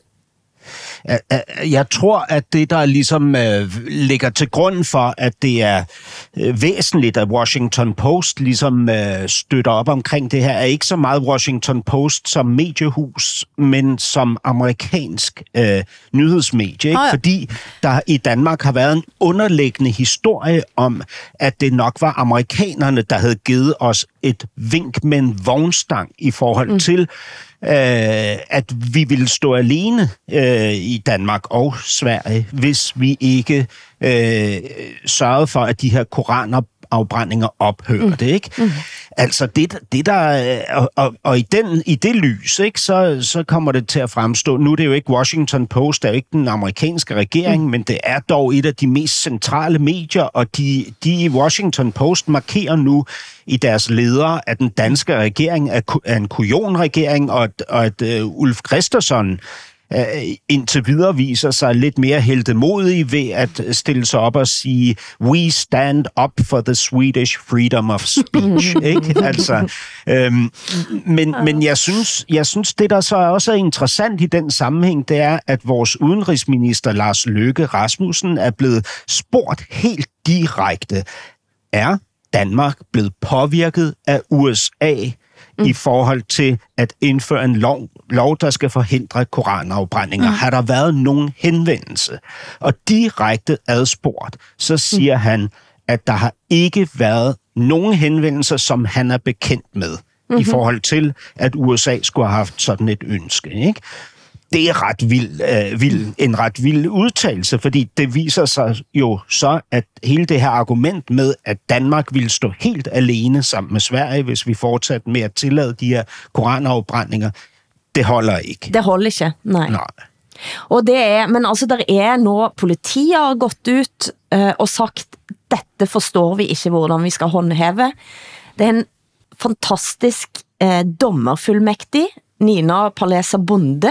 Speaker 4: Jeg tror, at det, der ligesom øh, ligger til grund for, at det er øh, væsentligt, at Washington Post ligesom øh, støtter op omkring det her, er ikke så meget Washington Post som mediehus, men som amerikansk øh, nyhedsmedie. Ikke? Oh ja. Fordi der i Danmark har været en underliggende historie om, at det nok var amerikanerne, der havde givet os et vink med en vognstang i forhold mm. til, Uh, at vi ville stå alene uh, i Danmark og Sverige, hvis vi ikke uh, sørgede for, at de her koranafbrændinger ophørte, mm. ikke? Mm. Altså det, det der og, og, og i den i det lys, ikke, så så kommer det til at fremstå. Nu er det jo ikke Washington Post, det er jo ikke den amerikanske regering, mm. men det er dog et af de mest centrale medier, og de de i Washington Post markerer nu i deres ledere, at den danske regering er en kujonregering, og at, og at uh, Ulf Kristersson uh, indtil videre viser sig lidt mere heltemodig ved at stille sig op og sige, we stand up for the Swedish freedom of speech. Ikke? Altså, øhm, men, men jeg synes, jeg synes, det der så også er interessant i den sammenhæng, det er, at vores udenrigsminister Lars Løkke Rasmussen er blevet spurgt helt direkte, er Danmark blevet påvirket af U S A mm. i forhold til at indføre en lov, lov der skal forhindre koranafbrændinger. Mm. Har der været nogen henvendelse? Og direkte adspurgt, så siger mm. han, at der har ikke været nogen henvendelser, som han er bekendt med, mm-hmm. i forhold til, at U S A skulle have haft sådan et ønske, ikke? Det er ret vild, øh, vild, en ret vild udtalelse, fordi det viser sig jo så, at hele det her argument med, at Danmark ville stå helt alene sammen med Sverige, hvis vi fortsatte med at tillade de her koranafbrændinger, det holder ikke.
Speaker 2: Det holder ikke, nej.
Speaker 4: nej.
Speaker 2: Og det er, men altså, der er nu, politiet har gått ut øh, og sagt, dette forstår vi ikke, hvordan vi skal håndhæve. Det er en fantastisk øh, dommerfuldmægtig, Nina Palesa Bonde,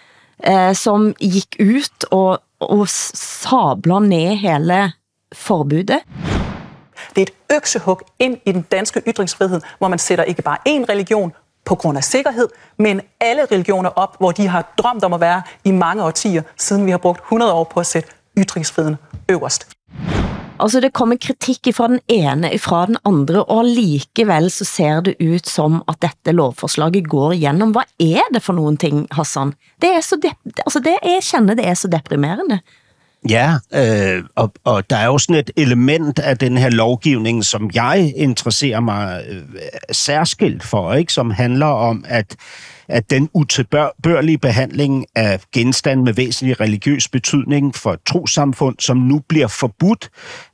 Speaker 2: Eh, som gik ut og, og sabler ned hele forbudet.
Speaker 15: Det er et øksehug ind i den danske ytringsfrihed, hvor man sætter ikke bare én religion på grund af sikkerhed, men alle religioner op, hvor de har drømt om at være i mange årtier, siden vi har brugt hundrede år på at sætte ytringsfriheden øverst.
Speaker 2: Altså, det kommer kritik fra den ene, fra den andre, og likevel så ser det ut som at dette lovforslaget går igennem. Hvad er det for nogen ting, Hassan? Det er så, de- altså det jeg kender, det er så deprimerende.
Speaker 4: Ja, øh, og, og der er jo sådan et element af den her lovgivning, som jeg interesserer mig øh, særskilt for, ikke? Som handler om, at, at den utilbørlige behandling af genstand med væsentlig religiøs betydning for trossamfund, som nu bliver forbudt,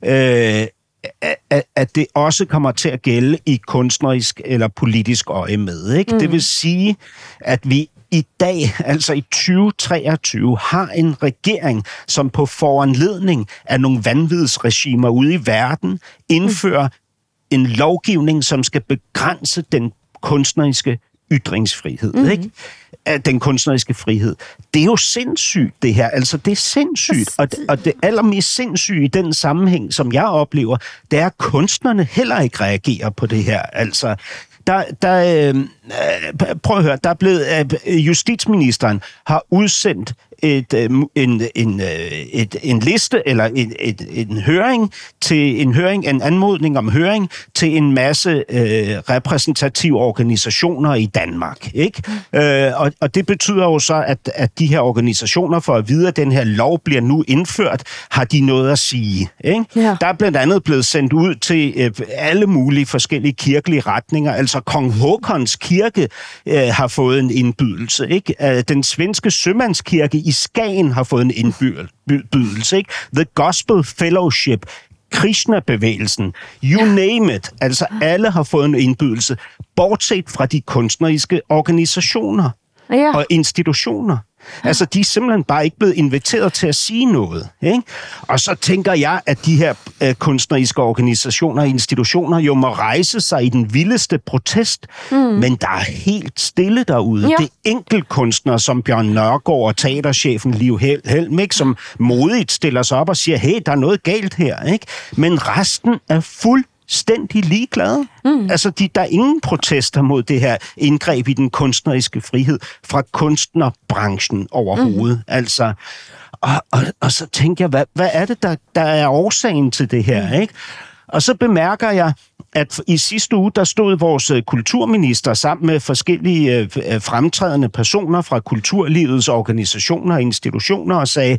Speaker 4: øh, at, at det også kommer til at gælde i kunstnerisk eller politisk øje med. Ikke? Mm. Det vil sige, at vi i dag, altså i tyve treogtyve, har en regering, som på foranledning af nogle vanvidsregimer ude i verden indfører en lovgivning, som skal begrænse den kunstneriske ytringsfrihed, mm-hmm. ikke? Den kunstneriske frihed. Det er jo sindssygt, det her. Altså, det er sindssygt. Og det, og det allermest sindssyge i den sammenhæng, som jeg oplever, det er, at kunstnerne heller ikke reagerer på det her. Altså, der, der, øh, prøv at høre, der er blevet, øh, justitsministeren har udsendt et, øh, en, en, øh, et, en liste, eller et, et, en høring, til en høring, en anmodning om høring, til en masse øh, repræsentative organisationer i Danmark. Ikke? Mm. Øh, og, og det betyder jo så, at, at de her organisationer, for at vide, at den her lov bliver nu indført, har de noget at sige. Ikke? Ja. Der er blandt andet blevet sendt ud til øh, alle mulige forskellige kirkelige retninger. Altså Kong Håkons kirke øh, har fået en indbydelse. Ikke? Øh, den svenske sømandskirke i Skagen har fået en indbydelse. Ikke? The Gospel Fellowship, Krishna-bevægelsen, you name it. Altså alle har fået en indbydelse, bortset fra de kunstneriske organisationer ja. og institutioner. Altså, de er simpelthen bare ikke blevet inviteret til at sige noget. Ikke? Og så tænker jeg, at de her øh, kunstneriske organisationer og institutioner jo må rejse sig i den vildeste protest, mm. men der er helt stille derude. Ja. Det er enkeltkunstnere som Bjørn Nørgaard og teaterchefen Liv Helm, ikke? Som modigt stiller sig op og siger, hey, der er noget galt her. Ikke? Men resten er fuld stændig ligeglade. Mm. Altså, de, der er ingen protester mod det her indgreb i den kunstneriske frihed fra kunstnerbranchen overhovedet. Mm. Altså, og, og, og så tænker jeg, hvad, hvad er det, der, der er årsagen til det her, mm. ikke? Og så bemærker jeg, at i sidste uge, der stod vores kulturminister sammen med forskellige øh, fremtrædende personer fra kulturlivets organisationer og institutioner og sagde,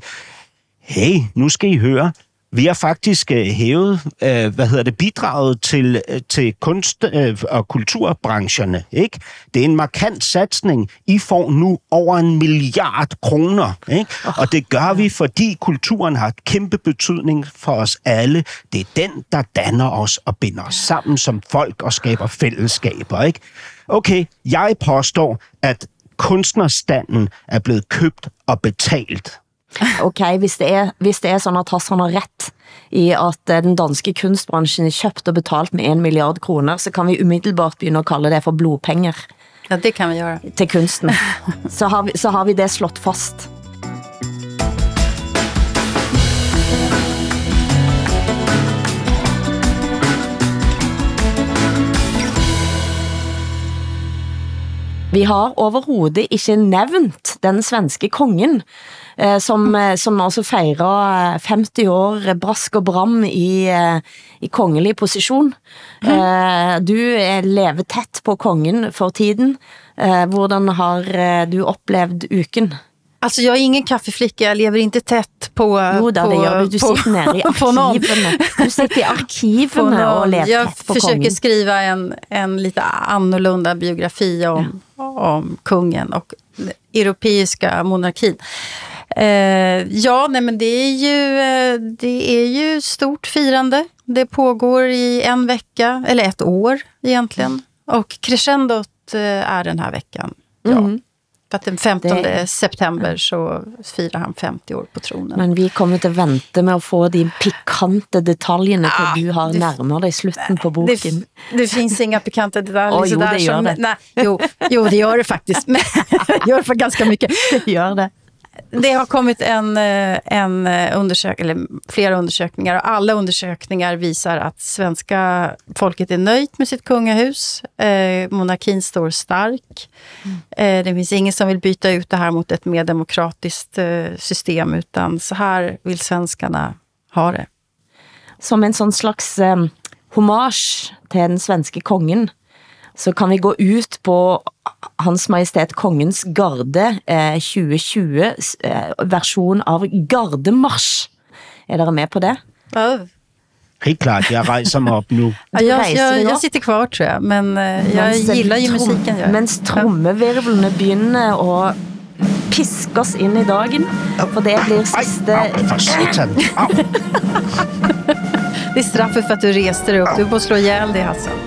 Speaker 4: hey, nu skal I høre, vi har faktisk øh, hævet, øh, hvad hedder det, bidraget til, øh, til kunst- øh, og kulturbrancherne, ikke? Det er en markant satsning. I får nu over en milliard kroner, ikke? Oh, og det gør vi, fordi kulturen har et kæmpe betydning for os alle. Det er den, der danner os og binder os sammen som folk og skaber fællesskaber, ikke? Okay, jeg påstår, at kunstnerstanden er blevet købt og betalt.
Speaker 2: Okay, hvis det er, hvis det er sådan, at Hassan har ret i at den danske kunstbranchen er købt og betalt med en milliard kroner, så kan vi umiddelbart begynde at kalde det for blodpenger.
Speaker 3: Ja, det kan vi gøre.
Speaker 2: Til kunsten. Så har vi, så har vi det slået fast. Vi har overhovedet ikke nævnt den svenske kongen, eh, som, som altså fejrer femti år brask og bram i, i kongelig position. Mm. Eh, du lever tæt på kongen for tiden. Eh, hvordan har du oplevet uken?
Speaker 3: Alltså jag är ingen kaffeflicka, jag lever inte tätt på...
Speaker 2: Jo, där,
Speaker 3: på,
Speaker 2: det gör du. Du
Speaker 3: på,
Speaker 2: sitter nere i arkiven. Du sitter i arkiven och lever
Speaker 3: jag
Speaker 2: tätt på
Speaker 3: försöker
Speaker 2: kongen.
Speaker 3: skriva en, en lite annorlunda biografi om, ja. om kungen och europeiska monarkin. Eh, ja, nej men det är ju det är ju stort firande. Det pågår i en vecka, eller ett år egentligen. Mm. Och crescendot är den här veckan. Ja. Mm. För att den femtonde det... september så firar han femti år på tronen.
Speaker 2: Men vi kommer till vänta med att få de pikante detaljerna till ja, du har det... närmare dig slutten på boken.
Speaker 3: Det, det finns inga pikanta detaljer.
Speaker 2: Oh, jo, det gör
Speaker 3: som,
Speaker 2: det.
Speaker 3: Nej, jo, jo, det gör det faktiskt. Men det gör det för ganska mycket.
Speaker 2: Det gör det.
Speaker 3: Det har kommit en, en undersökning, eller flera undersökningar, och alla undersökningar visar att svenska folket är nöjt med sitt kungahus. Eh, monarkin står stark. Mm. Eh, det finns ingen som vill byta ut det här mot ett mer demokratiskt eh, system, utan så här vill svenskarna ha det.
Speaker 2: som en sånn slags eh, hommage til den svenske kongen, så kan vi gå ut på Hans Majestet Kongens Garde eh, tjue tjue eh, versjon av Gardemarsj. Er dere med på det?
Speaker 3: Ja.
Speaker 4: Helt klart, jeg rejser mig op nu.
Speaker 3: Ja, jeg, jeg, jeg sitter kvar, tror jeg, men uh, jeg mens, gillar ju musikken. Jeg.
Speaker 2: Mens trommevirvlene begynner å piskes inn i dagen, for det blir siste...
Speaker 4: Au, au, for satan! Au!
Speaker 3: Det er straffet for at du reste deg opp. Du må slå ihjel det, Hassan.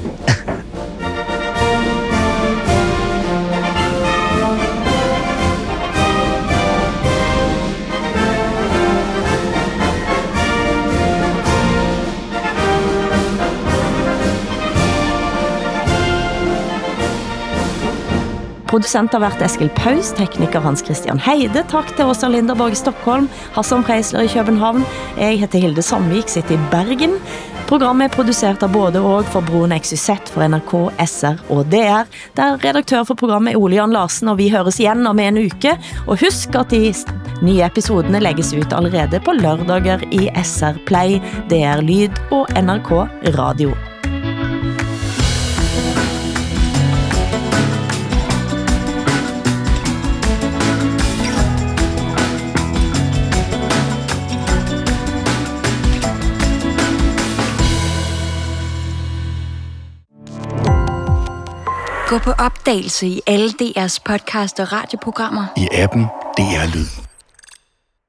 Speaker 2: Producent har vært Eskil Paus, tekniker Hans Christian Heide, takk til Åsa Linderborg i Stockholm, Hassan Preisler i København, jeg heter Hilde Sandvik, sitter i Bergen. Programmet er produsert av både og for Broen X Y Z for N R K, S R og D R, der redaktør for programmet er Ole Jan Larsen, og vi høres igjen om en uke. Og husk at de nye episodene legges ut allerede på lørdager i S R Play, D R Lyd og N R K Radio.
Speaker 16: Gå på opdagelse i alle D R's podcast og radioprogrammer.
Speaker 9: I appen D R Lyd.